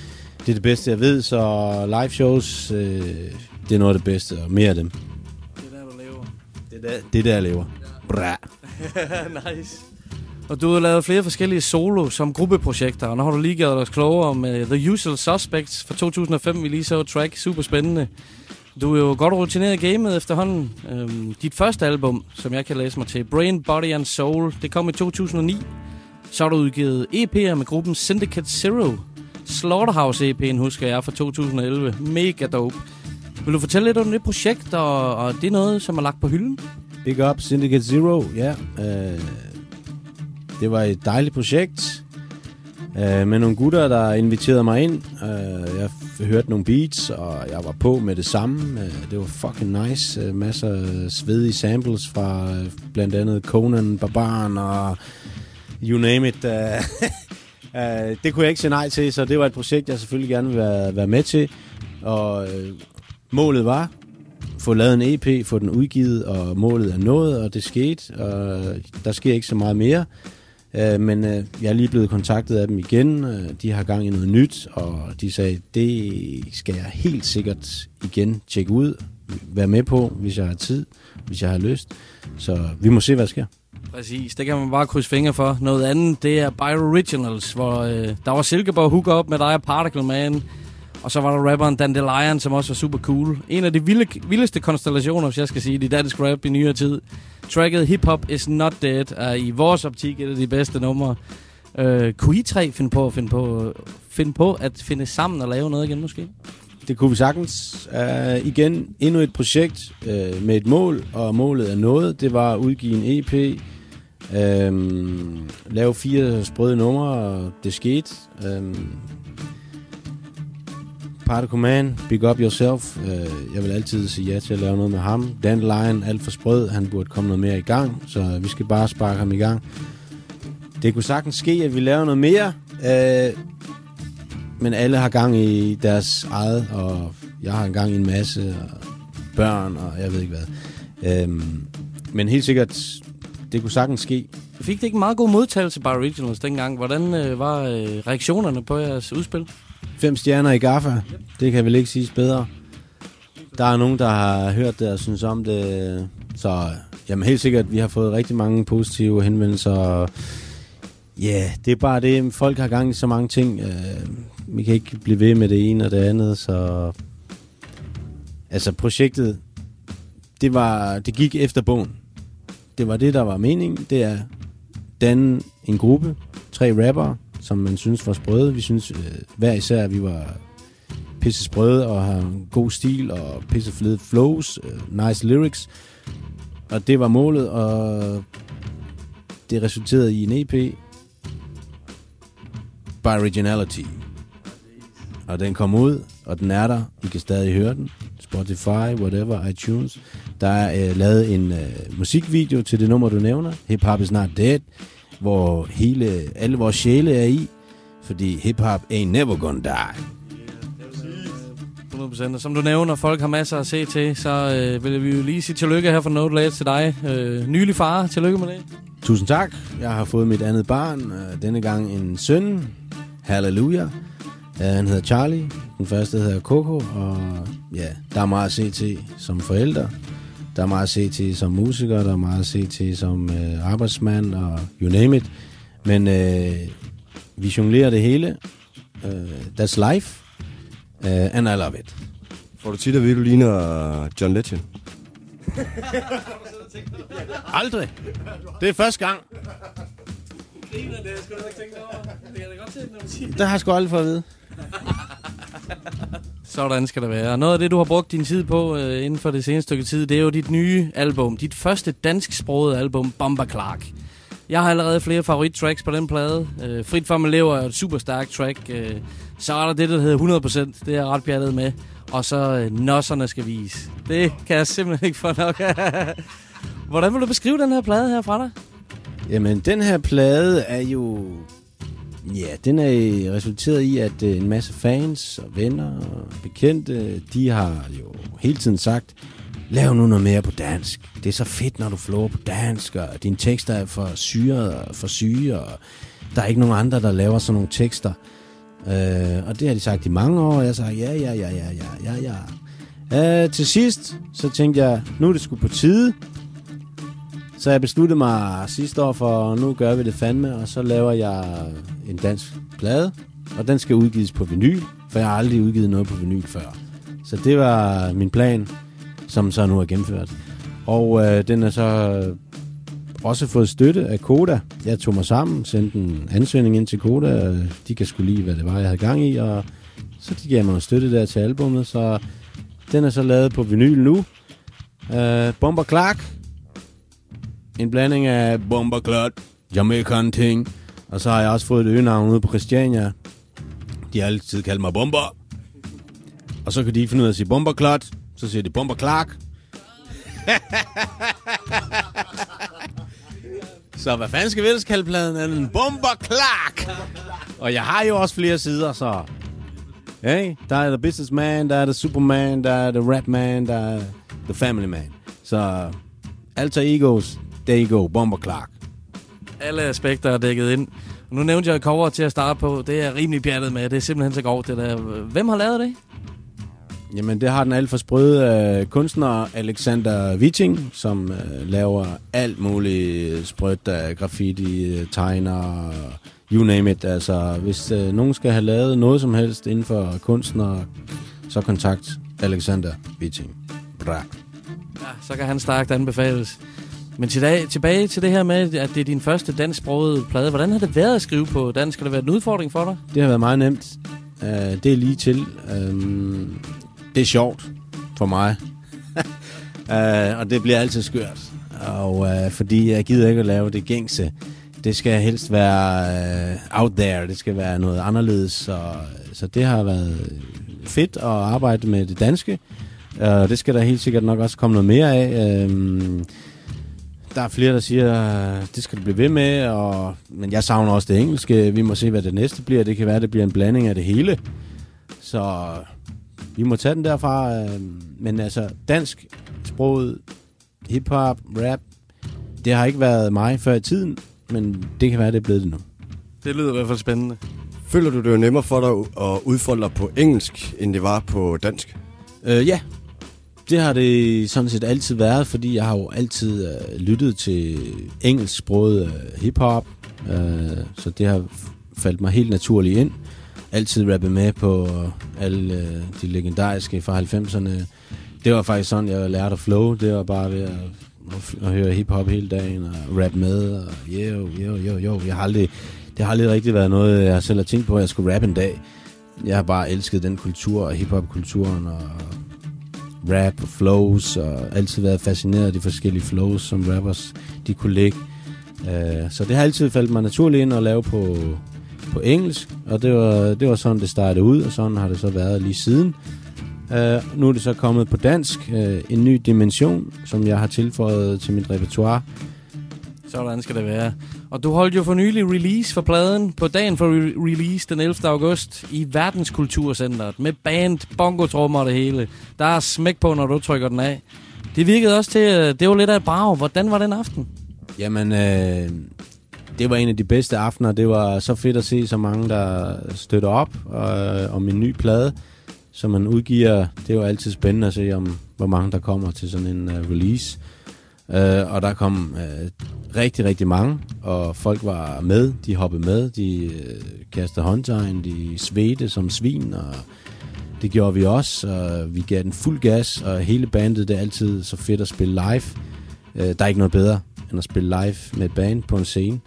Det er det bedste, jeg ved, så live shows, øh, det er noget af det bedste, og mere af dem. Det er der, du lever. Det er der, det er der jeg lever. Bra. Nice. Og du har lavet flere forskellige solo som gruppeprojekter, og nu har du lige gjort os klogere om uh, The Usual Suspects fra to tusind og fem, vi lige så track. Super spændende. Du er jo godt rutineret i gamet efterhånden. Øhm, dit første album, som jeg kan læse mig til, Brain, Body and Soul, det kom i to tusind og ni. Så har du udgivet E P'er med gruppen Syndicate Zero. Slaughterhouse E P'en husker jeg fra to tusind og elleve. Mega dope. Vil du fortælle lidt om det projekt, og, og det er noget, som er lagt på hylden? Big up, Syndicate Zero, ja. Øh, det var et dejligt projekt. Øh, med nogle gutter, der inviterede mig ind. Øh, jeg hørte nogle beats, og jeg var på med det samme. Øh, det var fucking nice. Øh, masser af svedige samples fra øh, blandt andet Conan, Barbaren og you name it. Øh, øh, det kunne jeg ikke sige nej til, så det var et projekt, jeg selvfølgelig gerne ville være, være med til. Og øh, målet var få lavet en E P, få den udgivet, og målet er nået, og det skete. Og der sker ikke så meget mere. Uh, men uh, jeg er lige blevet kontaktet af dem igen. Uh, de har gang i noget nyt, og de sagde, det skal jeg helt sikkert igen tjekke ud, være med på, hvis jeg har tid, hvis jeg har lyst. Så vi må se, hvad der sker. Præcis, det kan man bare krydse fingre for. Noget andet, det er Bio Originals, hvor uh, der var Silkeborg Hook Up med dig og Particle Man. Og så var der rapperen Dandelion, som også var super cool. En af de vilde, vildeste konstellationer, hvis jeg skal sige, i dansk rap i nyere tid. Tracket Hip Hop Is Not Dead er i vores optik et af de bedste numre. Uh, kunne I tre finde på, finde, på, finde på at finde sammen og lave noget igen måske? Det kunne vi sagtens. Uh, igen, endnu et projekt uh, med et mål, og målet er noget. Det var at udgive en E P, uh, lave fire sprøde numre, og det skete. Uh, Particle Man, Big Up Yourself. Jeg vil altid sige ja til at lave noget med ham. Dandelion, alt for sprød. Han burde komme noget mere i gang, så vi skal bare sparke ham i gang. Det kunne sagtens ske, at vi laver noget mere, øh, men alle har gang i deres eget, og jeg har gang i en masse, og børn, og jeg ved ikke hvad. Øh, men helt sikkert, det kunne sagtens ske. Fik det ikke en meget god modtagelse by Originals dengang? Hvordan øh, var øh, reaktionerne på jeres udspil? Fem stjerner i Gaffa. Det kan vel ikke siges bedre. Der er nogen, der har hørt det og synes om det. Så jamen, helt sikkert, vi har fået rigtig mange positive henvendelser. Ja, yeah, det er bare det. Folk har gang i så mange ting. Vi kan ikke blive ved med det ene og det andet. Så altså, projektet, det, var, det gik efter bogen. Det var det, der var meningen. Det er danne en gruppe, tre rappere, som man synes var sprøde. Vi synes øh, hver især, at vi var pisse sprøde og har en god stil og pisse fede flows, øh, nice lyrics. Og det var målet, og det resulterede i en E P by Originality. Og den kom ud, og den er der. I kan stadig høre den. Spotify, whatever, iTunes. Der er øh, lavet en øh, musikvideo til det nummer, du nævner. Hip Hop Is Not Dead. Hvor hele, alle vores sjæle er i, fordi hip-hop ain't never gonna die. hundrede procent. Og som du nævner, folk har masser at se til, så øh, vil vi jo lige sige tillykke her fra No The Ledge til dig. Øh, nylig far, tillykke med det. Tusind tak. Jeg har fået mit andet barn, øh, denne gang en søn. Halleluja. Uh, han hedder Charlie. Den første hedder Coco, og ja, der er meget at se til som forældre. Der er meget at se til som musiker, der er meget at se til som øh, arbejdsmand og you name it. Men øh, vi jonglerer det hele. Uh, that's life. Uh, and I love it. Får du tit at vide, du ligner John Legend? Aldrig. Det er første gang. Det har jeg sgu aldrig fået at vide. Sådan skal det være. Noget af det, du har brugt din tid på øh, inden for det seneste stykke tid, det er jo dit nye album. Dit første dansksprogede album, Bomba Clark. Jeg har allerede flere favorit-tracks på den plade. Øh, Frit for mig lever er et super stærkt track. Øh, så er der det, der hedder hundrede procent. Det er jeg ret pjattet med. Og så øh, Nosserne skal vise. Det kan jeg simpelthen ikke få nok. Hvordan vil du beskrive den her plade her fra dig? Jamen, den her plade er jo... Ja, den er resulteret i, at øh, en masse fans og venner og bekendte, de har jo hele tiden sagt, lav nu noget mere på dansk. Det er så fedt, når du flower på dansk, og dine tekster er for syret og for syge, og der er ikke nogen andre, der laver sådan nogle tekster. Øh, og det har de sagt i mange år, og jeg sagde, ja, ja, ja, ja, ja, ja, ja. Øh, til sidst, så tænkte jeg, nu er det sgu på tide. Så jeg besluttede mig sidste år for, nu gør vi det fandme, og så laver jeg en dansk plade, og den skal udgives på vinyl, for jeg har aldrig udgivet noget på vinyl før. Så det var min plan, som så nu er gennemført. Og øh, den er så også fået støtte af Koda. Jeg tog mig sammen, sendte en ansøgning ind til Koda. De kan sgu lide, hvad det var, jeg havde gang i, og så de gav mig noget støtte der til albummet, så den er så lavet på vinyl nu. Uh, Bomber Clark. En blanding af Bomber Clark, Jamaican ting, og så har jeg også fået et øgenavn ude på Christiania. De har altid kaldt mig Bomber. Og så kan de ikke finde ud af at sige Bomber Clark, så siger de Bomber Clark. Så hvad fanden skal vi ellers kalde pladen? Er den Bomber Clark? Og jeg har jo også flere sider, så... Hey, der er The Businessman, der er The Superman, der er The Rap Man, der er The Family Man. Så alter egos, there you go, Bomber Clark. Alle aspekter er dækket ind. Nu nævnte jeg cover til at starte på. Det er rimelig pjattet med. Det er simpelthen så godt, det der. Hvem har lavet det? Jamen, det har den alt for sprøde uh, kunstner Alexander Witting, som uh, laver alt muligt sprødt af graffiti, tegner, you name it. Altså, hvis uh, nogen skal have lavet noget som helst inden for kunstner, så kontakt Alexander Witting. Bra. Ja, så kan han stærkt anbefales. Men til dag, tilbage til det her med, at det er din første dansksprogede plade. Hvordan har det været at skrive på dansk? Har det været en udfordring for dig? Det har været meget nemt. Uh, det er lige til. Um, det er sjovt for mig. uh, og det bliver altid skørt. Og uh, fordi jeg gider ikke at lave det gængse. Det skal helst være uh, out there. Det skal være noget anderledes. Så, så det har været fedt at arbejde med det danske. Uh, det skal der helt sikkert nok også komme noget mere af. Uh, Der er flere, der siger, det skal du blive ved med, og, men jeg savner også det engelske. Vi må se, hvad det næste bliver. Det kan være, det bliver en blanding af det hele. Så vi må tage den derfra. Men altså, dansk sproget, hiphop, rap, det har ikke været mig før i tiden, men det kan være, det er blevet det nu. Det lyder i hvert fald spændende. Føler du, det er nemmere for dig at udfolde dig på engelsk, end det var på dansk? Øh, ja. Det har det sådan set altid været, fordi jeg har jo altid øh, lyttet til engelsksproget øh, hiphop, øh, så det har faldt mig helt naturligt ind. Altid rappet med på alle øh, de legendariske fra halvfemserne. Det var faktisk sådan, jeg lærte at flow. Det var bare ved at, at, at høre hiphop hele dagen og rap med. Og yo, yo, yo, yo. Jeg har aldrig, det har aldrig rigtig været noget, jeg selv har tænkt på, at jeg skulle rappe en dag. Jeg har bare elsket den kultur og hiphop-kulturen og rap og flows, og altid været fascineret af de forskellige flows, som rappers de kunne lægge. Uh, så det har altid faldt mig naturligt ind at lave på, på engelsk, og det var, det var sådan, det startede ud, og sådan har det så været lige siden. Uh, nu er det så kommet på dansk, uh, en ny dimension, som jeg har tilføjet til mit repertoire. Sådan skal det være. Og du holdt jo for nylig release for pladen på dagen for re- release den ellevte august i Verdenskulturcenteret med band, bongotrummer og det hele. Der er smæk på, når du trykker den af. Det virkede også til, det var lidt af et brag. Hvordan var den aften? Jamen, øh, det var en af de bedste aftener. Det var så fedt at se så mange, der støtter op øh, om en ny plade, som man udgiver. Det er jo altid spændende at se, om hvor mange der kommer til sådan en uh, release. Uh, og der kom uh, rigtig, rigtig mange, og folk var med, de hoppede med, de uh, kastede håndtegn, de svedte som svin, og det gjorde vi også, og vi gav den fuld gas, og hele bandet, det er altid så fedt at spille live. Uh, der er ikke noget bedre, end at spille live med et band på en scene.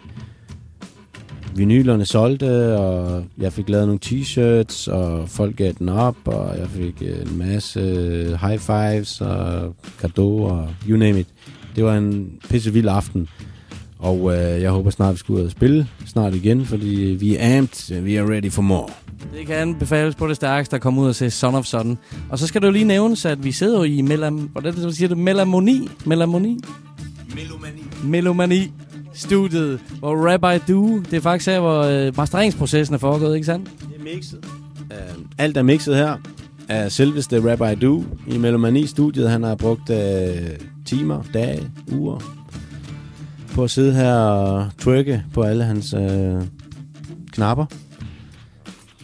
Vinylerne solgte, og jeg fik lavet nogle t-shirts, og folk gav den op, og jeg fik en masse high fives, og cadeau, og you name it. Det var en pissevild aften, og øh, jeg håber snart, vi skal ud og spille snart igen, fordi vi er amped, vi er ready for more. Det kan anbefales på det stærkeste at komme ud og se Son of Son. Og så skal det jo lige nævnes, at vi sidder jo i melam... Hvordan det, du siger det? Melamoni? Melamoni? Melomani. Melomani. Studiet, hvor Rap I Do, det er faktisk her, hvor øh, masteringsprocessen er foregået, ikke sandt? Det er mixet. Uh, alt er mixet her af selveste Rap I Do i Melomani-studiet. Han har brugt uh, timer, dage, uger på at sidde her og trykke på alle hans uh, knapper.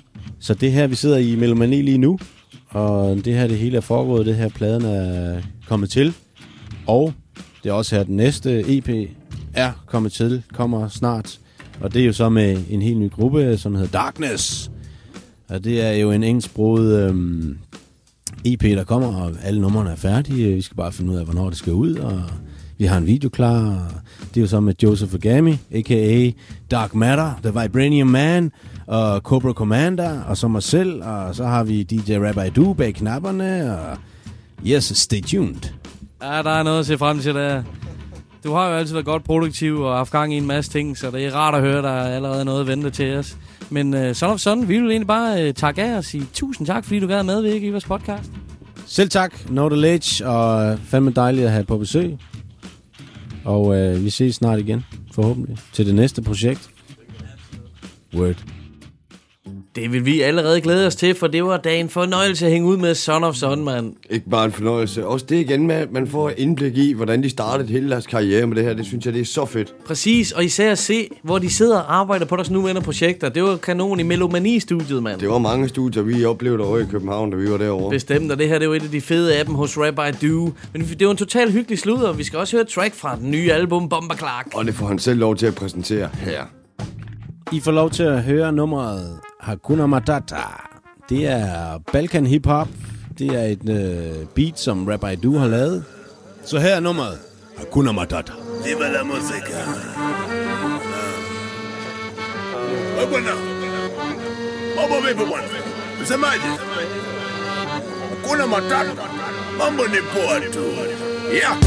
Så det her, vi sidder i Melomani lige nu, og det her, det hele er foregået, det her pladen er kommet til, og det er også her, den næste E P er kommet til, kommer snart, og det er jo så med en helt ny gruppe, som hedder Darkness, og det er jo en engelsksproget øhm, E P, der kommer, og alle numrene er færdige, vi skal bare finde ud af, hvornår det skal ud, og vi har en video klar, og det er jo så med Joseph Agami, a k a. Dark Matter, The Vibranium Man, og Cobra Commander, og så mig selv, og så har vi D J Rabbi Du bag knapperne, og yes, stay tuned. Ja, der er noget at se frem til der. Du har jo altid været godt produktiv og haft gang i en masse ting, så det er rart at høre, der er allerede noget at vente til os. Men uh, sådan og sådan, vi vil egentlig bare uh, takke af og sige tusind tak, fordi du gad medvirke i vores podcast. Selv tak, Know The Ledge, og fandme dejligt at have på besøg. Og uh, vi ses snart igen, forhåbentlig, til det næste projekt. Word. Det vil vi allerede glæde os til, for det var da en fornøjelse at hænge ud med Son of Son, mand. Ikke bare en fornøjelse. Også det igen med, at man får indblik i, hvordan de startede hele deres karriere med det her. Det synes jeg, det er så fedt. Præcis, og især at se, hvor de sidder og arbejder på deres nuværende projekter. Det var kanon i Melomani-studiet, mand. Det var mange studier, vi oplevede over i København, da vi var derovre. Bestemt, og det her det var et af de fede af dem hos Rabbi Du. Men det var en totalt hyggelig sludder, og vi skal også høre et track fra den nye album, Bomba Clark. Og det får han selv lov til at præsentere her. I får lov til at høre nummeret Hakuna Matata. Det er Balkan Hip Hop. Det er et øh, beat, som Rabbi Du har lavet. Så her er nummeret Hakuna Matata. Viva la música. Hakuna. Mambo vipi bwana? Msemaje? Hakuna Matata. Mambo ni poa tu. Ja.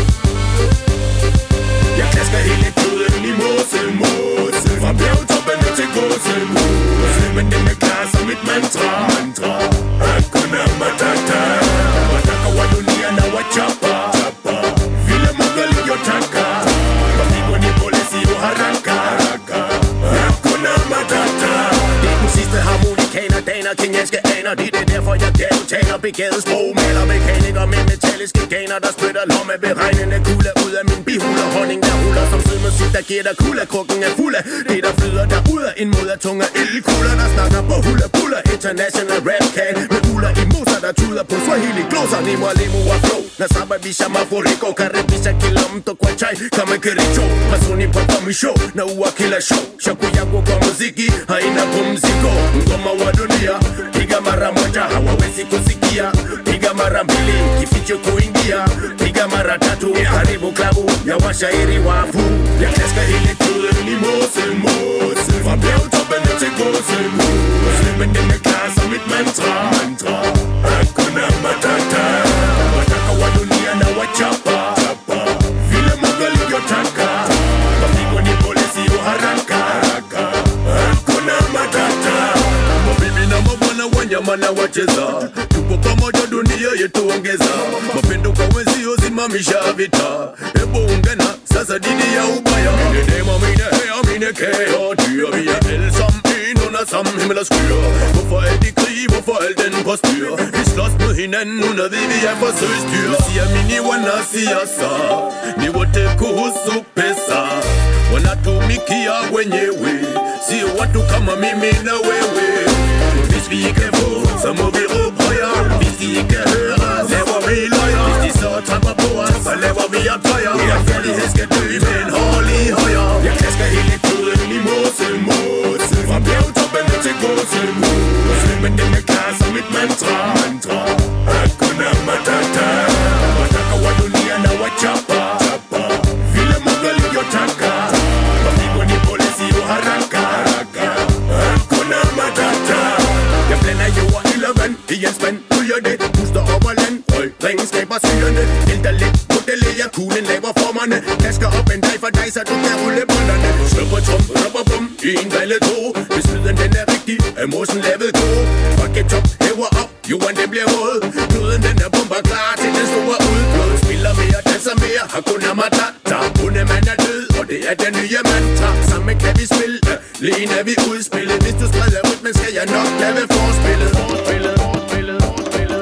Jeg klasker hele tiden i mose, mose. Fra bjergtoppene til gåse, mose. Men den er klar som et mantra, mantra. Hakuna Matata. Mataka wa dunia na wachapa, chapa. Vile mugali yotaka. Mapigo ni polisi yo haraka, haraka. Hakuna Matata. Det er den sidste harmonikaner, daner, kenyanske aner. Det er derfor jeg gavtaler, begavet sprog. Maler mekaniker med metalliske ganer, der spytter lomme beregnende kulde ud af min bihuler. Honning der ruller som sød musik, der giver dig kulde. Krukken er fuld af det, der flyder der ud af en mod af tunge ildkugler, der snakker på hula puller. International rap can med uler i moser, der tuder på Swahili gloser. Nemo lemo og flow, nasababisha mafuriko. Karibisha kilomto kwa chai kama kiricho. Masuni pa komisho na uwa kila show. Shaku yangu kwa muziki haina pumziko. Ngoma wa dunia piga mara moja hawawezi kusikia. Piga mara mbili kificho kuingia. Piga mara tatu karibu klabu ya washairi wafu. Ya klaska hele tiden i mose, mose. Fra bjergtoppene til gåse, mose. Men den er klar som et mantra, mantra. Hakuna Matata. Mataka wa dunia na wachapa, chapa. Vile mugali yotaka. Mapigo ni polisi yo haraka, haraka. Hakuna Matata. Mabibi na mabwana wanyama na wacheza. Tupo pamoja dunia yetu ongeza. Mapendo kwa wenzio simamisha vita. Ebo ungana sasa dini ya ubaya. Mine dema mine hea mine kære dyr. Vi er alle sammen en under samme himmel og skyer. Hvorfor er de krig? Hvorfor al den på styr? Vi slås mod hinanden uden at vide vi er forsøgsdyr. Siger mini wana siger så. Ni wote kuhusu pesa. Wanatumikia wenyewe. Sio watu kama mimi na wewe. Hvis vi ikke få, så må vi råbe højere. Hvis de ikke hører, laver vi løjer. Hvis de så tramper på os, så laver vi optøjer. Retfærdighed skal dø med en hård lige højere. Jeg klasker hele tiden i mose, mose. Fra bjergtoppene til gåse, mose. Men den er klar som et mantra, mantra. Hakuna Matata. Mataka wa dunia na wachapa, chapa. Vile mugali yotaka. Mapigo ni polisi yo haraka, haraka. Hakuna Matata. Jeg blander jord i løven i en spand. Ryger det, puster over land. Høj, ringen skaber syrende.Ælter lidt, modellerer kuglen, laver formerne. Kasker op en dag for dig, så du kan rulle bånderne. Slupper trum, slupper bum, i en valget to. Hvis lyden den er rigtig, er mosen lavet god. Fucket top, hæver op, jorden den bliver våd. Kloden den er bomber klar til den store udblod. Spiller mere, danser mere, Hakuna Matata. Hundemand er død, og det er den nye mantra. Sammen kan vi spille, lige er vi udspillet. Hvis du spreder ud, men skal jeg nok lave forspillet. Forspillet, forspillet, forspillet.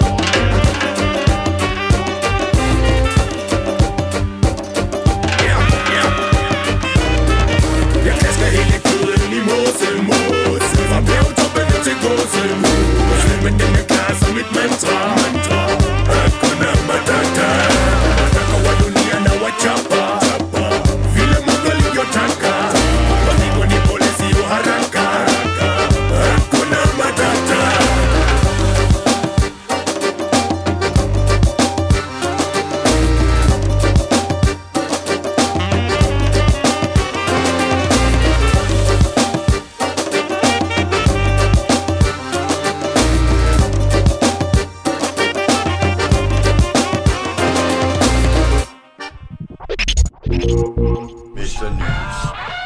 Yeah, yeah. Jeg klasker hele tiden i mose, mose. Fra bjergtoppene til gåse,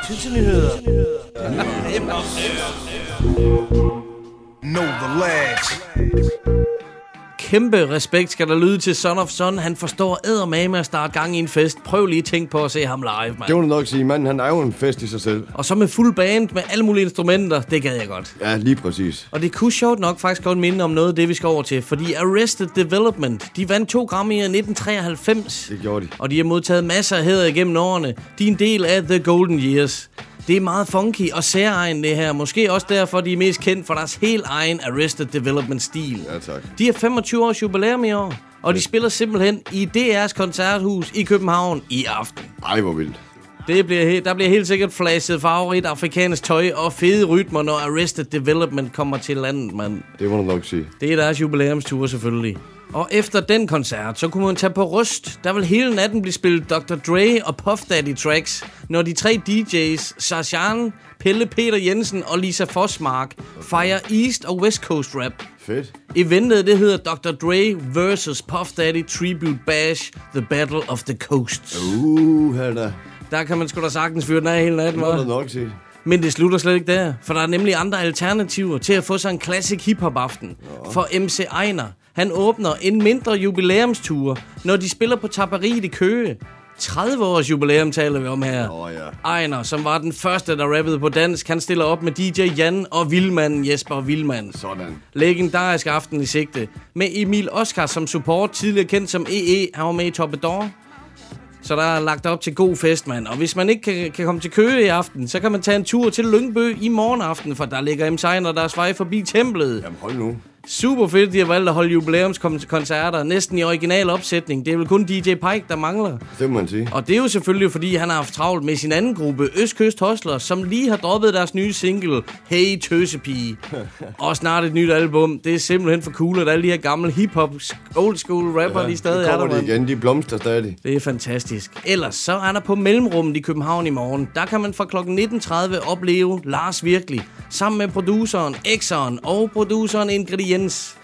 Tynsenyheder. Know the ledge. Kæmpe respekt skal der lyde til Son of Son. Han forstår eddermame at starte gang i en fest. Prøv lige at tænke på at se ham live, mand. Det må du nok sige. Manden, han er jo en fest i sig selv. Og så med fuld band med alle mulige instrumenter. Det gad jeg godt. Ja, lige præcis. Og det kunne sjovt nok faktisk godt minde om noget af det, vi skal over til. Fordi Arrested Development, de vandt to Grammy'er i nitten treoghalvfems. Det gjorde de. Og de har modtaget masser af hæder igennem årene. De er en del af The Golden Years. Det er meget funky og særegen det her. Måske også derfor, de er mest kendt for deres helt egen Arrested Development-stil. Ja, tak. De har femogtyve års jubilæum i år, og de spiller simpelthen i D R's koncerthus i København i aften. Ej, hvor vildt. Det bliver he- der bliver helt sikkert flashet favorit afrikansk tøj og fede rytmer, når Arrested Development kommer til landet, mand. Det må du nok sige. Det er deres jubilæumstur selvfølgelig. Og efter den koncert, så kunne man tage på Rust. Der vil hele natten blive spillet doktor Dre og Puff Daddy tracks, når de tre D J's, Sarshan, Pelle Peter Jensen og Lisa Forsmark, fejrer East og West Coast rap. Fedt. Eventet, det hedder doktor Dre versus Puff Daddy Tribute Bash, The Battle of the Coasts. Uh, her da. Der kan man sgu da sagtens fyre den af hele natten, Det må hva'? du nok sige. Men det slutter slet ikke der, for der er nemlig andre alternativer til at få sig en classic hiphop-aften. Ja. For M C Ejner, han åbner en mindre jubilæumstur, når de spiller på Tapperiet i Køge. tredive års jubilæum taler vi om her. Oh, ja. Ejner, som var den første, der rappede på dansk, han stiller op med D J Jan og Vildmanden Jesper Vildmand. Sådan. Legendarisk aften i sigte. Med Emil Oscar som support, tidligere kendt som E E, han var med i Toppedor. Så der er lagt op til god fest, mand. Og hvis man ikke kan, kan komme til Køge i aften, så kan man tage en tur til Lyngby i morgen aften, for der ligger M C Ejner deres vej forbi templet. Jamen hold nu. Super fedt, de har valgt at holde jubilæumskoncerter, næsten i original opsætning. Det er vel kun D J Pike, der mangler. Det må man sige. Og det er jo selvfølgelig, fordi han har haft travlt med sin anden gruppe, Østkyst Hustlers, som lige har droppet deres nye single, Hey Tøsepige. Og snart et nyt album. Det er simpelthen for cool, at alle de her gamle hip-hop, old school rapper, ja, de stadig er der, kommer de igen, de blomster stadig. Det er fantastisk. Ellers så er der på Mellemrummet i København i morgen. Der kan man fra klokken nitten tredive opleve Lars Virkelig, sammen med produceren X'eren og produceren Ingrediens,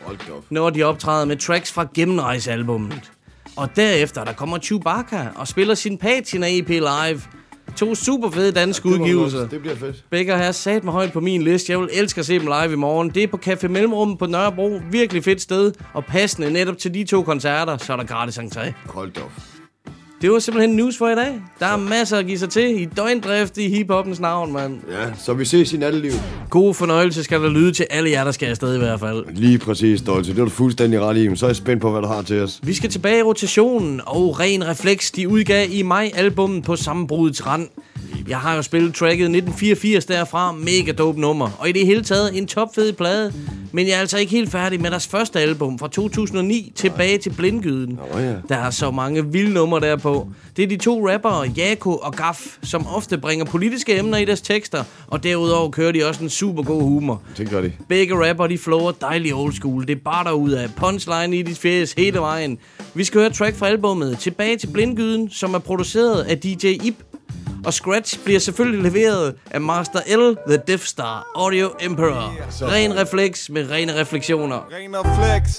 når de optræder med tracks fra Gennemrejsealbummet. Og derefter der kommer Chewbacca og spiller sin Patina E P live. To super fede danske Ja, det må udgivelser. også- det bliver fedt. Begge har sat mig højt på min liste. Jeg vil elske at se dem live i morgen. Det er på Café Mellemrummet på Nørrebro. Virkelig fedt sted. Og passende netop til de to koncerter, så er der gratis entré. Hold da op. Det var simpelthen news for i dag. Der er masser at give sig til i døgndrift i hiphoppens navn, mand. Ja, så vi ses i natteliv. God fornøjelse skal der lyde til alle jer, der skal afsted i hvert fald. Lige præcis, Dolce. Det er du fuldstændig ret i. Men så er jeg spændt på, hvad du har til os. Vi skal tilbage i rotationen, og Ren Refleks, de udgav i maj-albummet På Sammenbrudets Rand. Jeg har jo spillet tracket nitten fireogfirs derfra, mega dope nummer, og i det hele taget en topfed plade. Men jeg er altså ikke helt færdig med deres første album fra to tusind og ni, Tilbage til Blindgyden. Oh, ja. Der er så mange vilde numre derpå. Det er de to rappere, Jako og Gaf, som ofte bringer politiske emner i deres tekster, og derudover kører de også en super god humor. Det gør de. Begge rapper, de flower dejlig old school. Det er bare derudad. Punchline i dit fjes hele vejen. Vi skal høre et track fra albummet Tilbage til Blindgyden, som er produceret af D J Ip. Og Scratch bliver selvfølgelig leveret af Master L, The Death Star, Audio Emperor. Ren refleks med rene refleksioner. Ren refleks.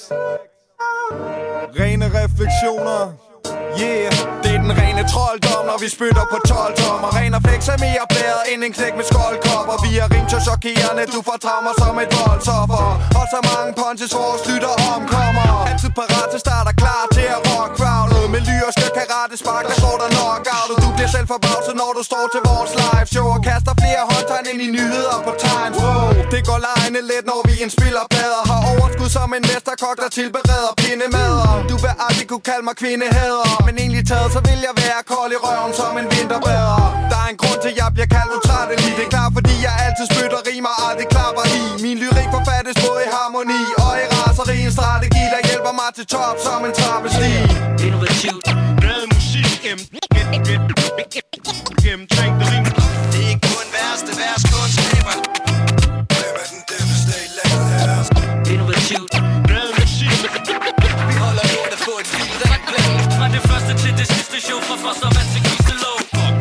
Rene refleksioner. Yeah, det er den rene trolddom, når vi spytter på tolv tommer. Ren refleks er mere blæret end en knæk med skoldkopper. Vi er rim så chokerende, du får traumer som et voldsoffer. Og så mange punches, vores lytter omkommer. Altid parat til start og klar til at rock crowdet. Med lyriske karate spark, der går der knockout. Du bliver selv forbavset, når du står til vores live show. Og kaster flere håndtegn ind i nyheder på Times Row. Det går lejende let, når vi indspiller plader. Har overskud som en mesterkok, der tilbereder pindemader. Du vil aldrig kunne kalde mig kvindehader, men egentlig taget, så vil jeg være kold i røven som en vinterbader. Der er en grund til, at jeg bliver kaldt utrættelig. Det er klart, fordi jeg altid spytter rimer, aldrig klapper i. Min lyrik forfattes både i harmoni og i raseri. En strategi, der hjælper mig til top som en trappestig. Innovativt. Glad musik gennem gennemtænkte rim. Det er ikke kun værste vers kunstskaber. Hvem er den devastated lavet her? Innovativt. Glad musik. Vi holder lortet på et fil, der er glad. Fra det første til det sidste show, fra Fostervand til Kistelov.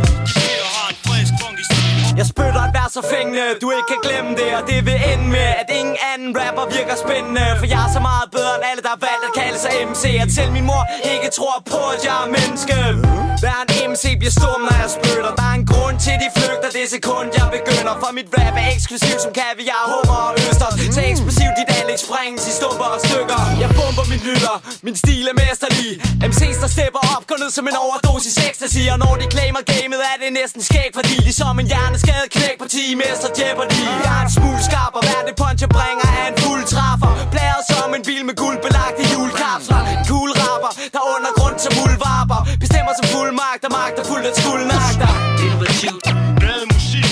Jeg spytter et vers så fængende, du ikke kan glemme det. Og det vil ende med, at ingen anden rapper virker spændende. For jeg er så meget bedre end alle, der har valgt at kalde sig M C. At selv min mor ikke tror på, at jeg er menneske. Hver en M C bliver stum, når jeg spytter. Der er en grund til, de flygter. Det det sekund jeg begynder. For mit rap er eksklusiv som kaviar, hummer og østers. Så eksplosiv dit anlæg sprænges i stumper og stykker. Jeg bomber min lytter, min stil er mesterlig. M C's der stepper op, går ned som en overdosis ecstasy. Og når de claimer gamet er det næsten skæg, fordi de som en hjerneskadet knæk på ti mester Jeopardy. Jeg er en smule skarp og hver det punch jeg bringer er en fuld træffer. Blæret som en bil med guldbelagte hjulkapsler. En cool rapper, der under grund som muldvarper. Bestemmer som fuldmagt og magter fuldt af skuldnagter. Innovativt, glad musik.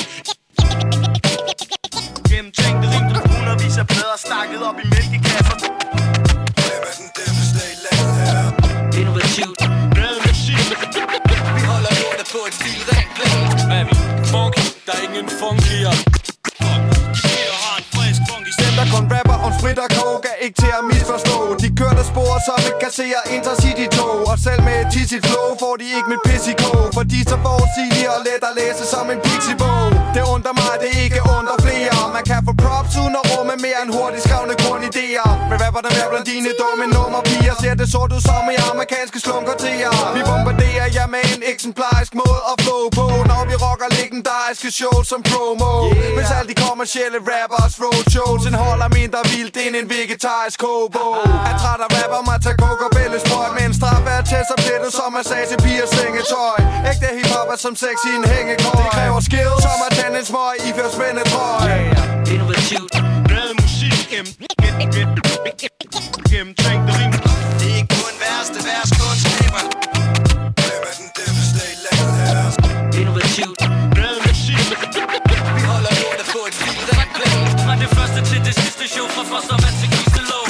Gennemtænkte rim, der hundredvis af plader stakket op i mælkekasser. Hvem er den devastated lavet her? Innovativt, glad musik. Vi holder lortet på et vildt rent plan. Hvad er vi? Funky, der er ingen funkier. Dem der kun rapper om sprit og coke er ikke til at misforstå. De kørte spor som et kasserer Intercity-tog. Og selv med et tissigt flow får de ikke mit pis i kog. For de er så forudsigelige og let at læse som en pixie-bog. Det undrer mig, det ikke undrer flere. Man kan få props uden at rumme mere end hurtigt skrevne grundidéer. Men rapper der mere blandt dine dumme nummerpiger. Ser det sort ud som i amerikanske slumkvarterer. Vi bombarderer jer med en eksemplarisk måde at flow på. Når vi rocker legendariske shows som promo. Yeah. Hvis alle de kommercielle rappers roadshows holder mindre vildt end en vegetarisk kobo. Er træt af rapper, man tager coke og bælgesprøj. Men en straf er tæt som plettet som massage, piger, sengetøj. Ægte hiphop er som sex i en hængekøj. Det kræver skills, som at tænde en smøg i før spændetrøj. Yeah, innovativt, glad musik. Gennemtænkte rim. Det er ikke kun værste vers kunstskaber. Hvem er den devastated lavet her? Innovativt, glad musik. Vi holder lortet på et vildt rent plan. Fra det første til det sidste show, fra Fostervand til Kistelov.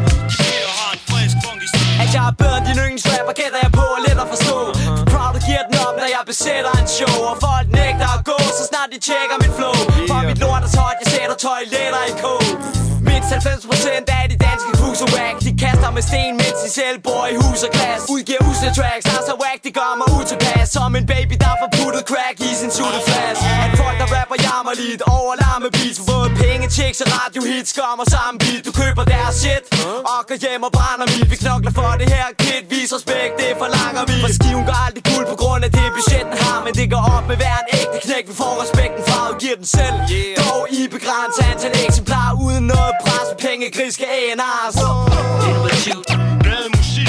At jeg er bedre end din yndlingsrapper, gætter jeg på og let at forstå. Proud og giver den op, når jeg besætter en show. Og folk nægter at gå, så snart de tjekker mit flow. For mit lort er så højt, jeg sætter toiletter i kog. Mindst halvfems procent af de danske cruiser-whack. De kaster med sten, mens de selv bor i hus og glas. Udgiver usle tracks, der er så whack, de gør mig utilpas. Som en baby, der får puttet crack i sin sutteflaske. At folk, der rapper jammerligt over larme beats. For både penge, checks og radiohits, skommer sammen beat. Du køber deres shit og går hjem og brænder mit. Vi knokler for det her kid, vis respekt, det forlanger vi. For skiven går aldrig guld på grund af det budget den har. Men det går op med hver en ægte knæk, vi får respekten fra og giver den selv. Dog i begrænset antal eksemplarer uden noget pres, penge, griske A and R's. Innovativt, glad musik.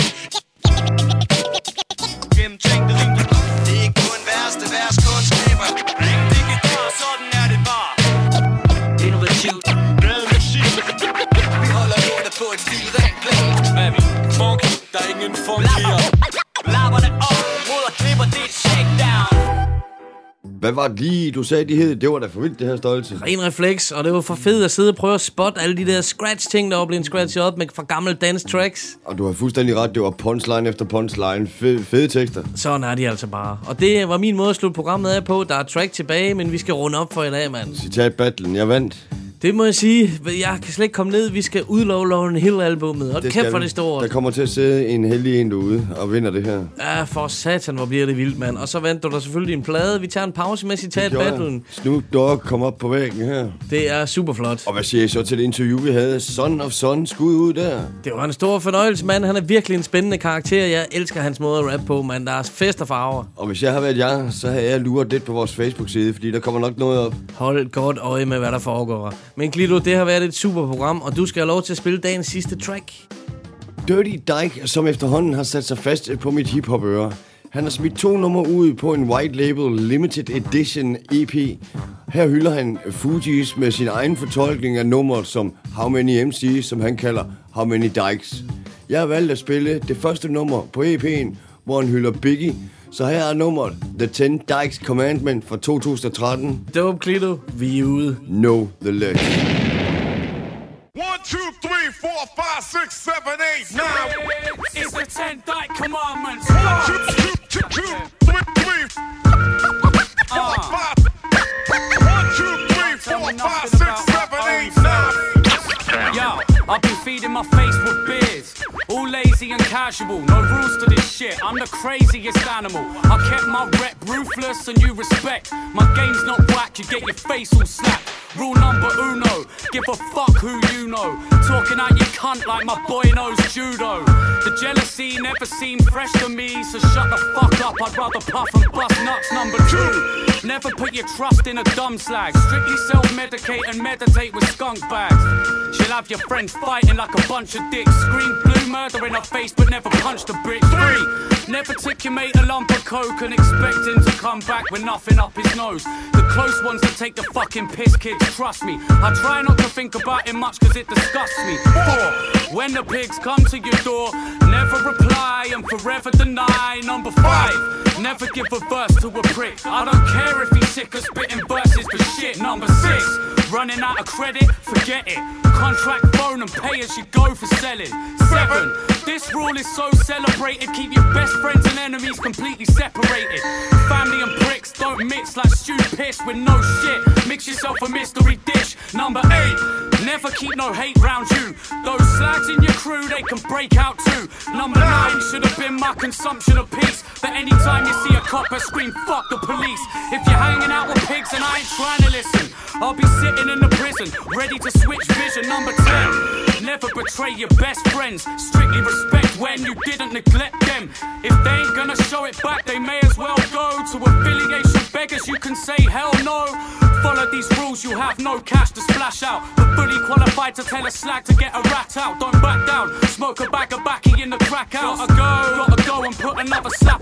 Gennemtænkte rim. Det er ikke kun værste vers kunstskaber. Det kan gøre, sådan er det bare. Innovativt, glad musik. Vi holder lortet på et vildt rent plan. Hvad er vi? Funky, der er ingen funkier. Lapper det op, ruder klipper, det er shakedown. Hvad var det lige, du sagde, de hed? Det var da for vildt, det her stolse. Ren refleks, og det var for fedt at sidde og prøve at spotte alle de der scratch-ting, der var blevet scratchet op med fra gamle dance-tracks. Og du har fuldstændig ret, det var punchline efter punchline. Fede, fede tekster. Sådan er de altså bare. Og det var min måde at slutte programmet af på. Der er track tilbage, men vi skal runde op for i dag, mand. Citat battlen, jeg vandt. Det må jeg sige. Jeg kan slet ikke komme ned. Vi skal udlove Lauryn Hill-albummet. Og det kæft for det store. Der kommer til at sidde en heldig en derude og vinder det her. Ja, for satan, hvor bliver det vildt, mand. Og så vandt du der selvfølgelig en plade. Vi tager en pause med citat battlen. Snoop Dogg kom op på væggen her. Det er super flot. Og hvad siger I så til det interview, vi havde? Son of Son, skud ud der. Det var en stor fornøjelse, mand. Han er virkelig en spændende karakter. Jeg elsker hans måde at rappe på, mand. Der er fest og farver. Og hvis jeg har været jer, så har jeg luret lidt på vores Facebook-side, fordi der kommer nok noget op. Hold godt øje med, hvad der foregår. Men Glido, det har været et super program, og du skal have lov til at spille dagens sidste track. Dirty Dyke, som efterhånden har sat sig fast på mit hiphop-øre. Han har smidt to numre ud på en white label limited edition E P. Her hylder han Fugees med sin egen fortolkning af nummeret som How Many M C, som han kalder How Many Dykes. Jeg har valgt at spille det første nummer på E P'en, hvor han hylder Biggie. Så her er nummeret The ten Dykes Commandment fra to tusind og tretten. Dope, Glido. Vi er ude. Know the Ledge. One, two, three, four, five, six, seven, eight, nine. It's the ten Dyke Commandments. One, two, two, two, two, three, three, four, five. One, two, three, four, five, six, seven, eight, nine. Yo, I've been feeding my face with beers. All lazy and casual, no rules to this shit. I'm the craziest animal. I kept my rep ruthless and you respect. My game's not whack, you get your face all slapped. Rule number uno, give a fuck who you know. Talking out your cunt like my boy knows judo. The jealousy never seemed fresh to me, so shut the fuck up, I'd rather puff and bust nuts. Number two, never put your trust in a dumb slag. Strictly self-medicate and meditate with skunk bags. She'll have your friends fighting like a bunch of dicks. Scream blue murder in her face but never punched a bitch. Three, never took your mate a lump of coke and expect him to come back with nothing up his nose. The close ones that take the fucking piss, kids, trust me. I try not to think about it much cause it disgusts me. Four, when the pigs come to your door, never reply and forever deny. Number five, never give a verse to a prick. I don't care if he's sick of spitting verses for shit. Number six, running out of credit, forget it. Contract phone and pay as you go for selling. Seven, this rule is so celebrated, keep your best friends and enemies completely separated. Family and pricks don't mix like stew piss with no shit. Mix yourself a mystery dish. Number eight, never keep no hate round you. Those slags in your crew, they can break out too. Number nine should have been my consumption of peace. That anytime you see a copper scream, fuck the police. If you're hanging out with pigs and I ain't trying to listen, I'll be sitting in the prison, ready to switch vision. Number ten, never betray your best friends. Strictly respect when you didn't neglect them. If they ain't gonna show it back, they may as well go to affiliation beggars. You can say hell no. Follow these rules, you have no cash to splash out, but fully qualified to tell a slag to get a rat out. Don't back down, smoke a bag of backy in the crack house. Gotta go, gotta go and put another slap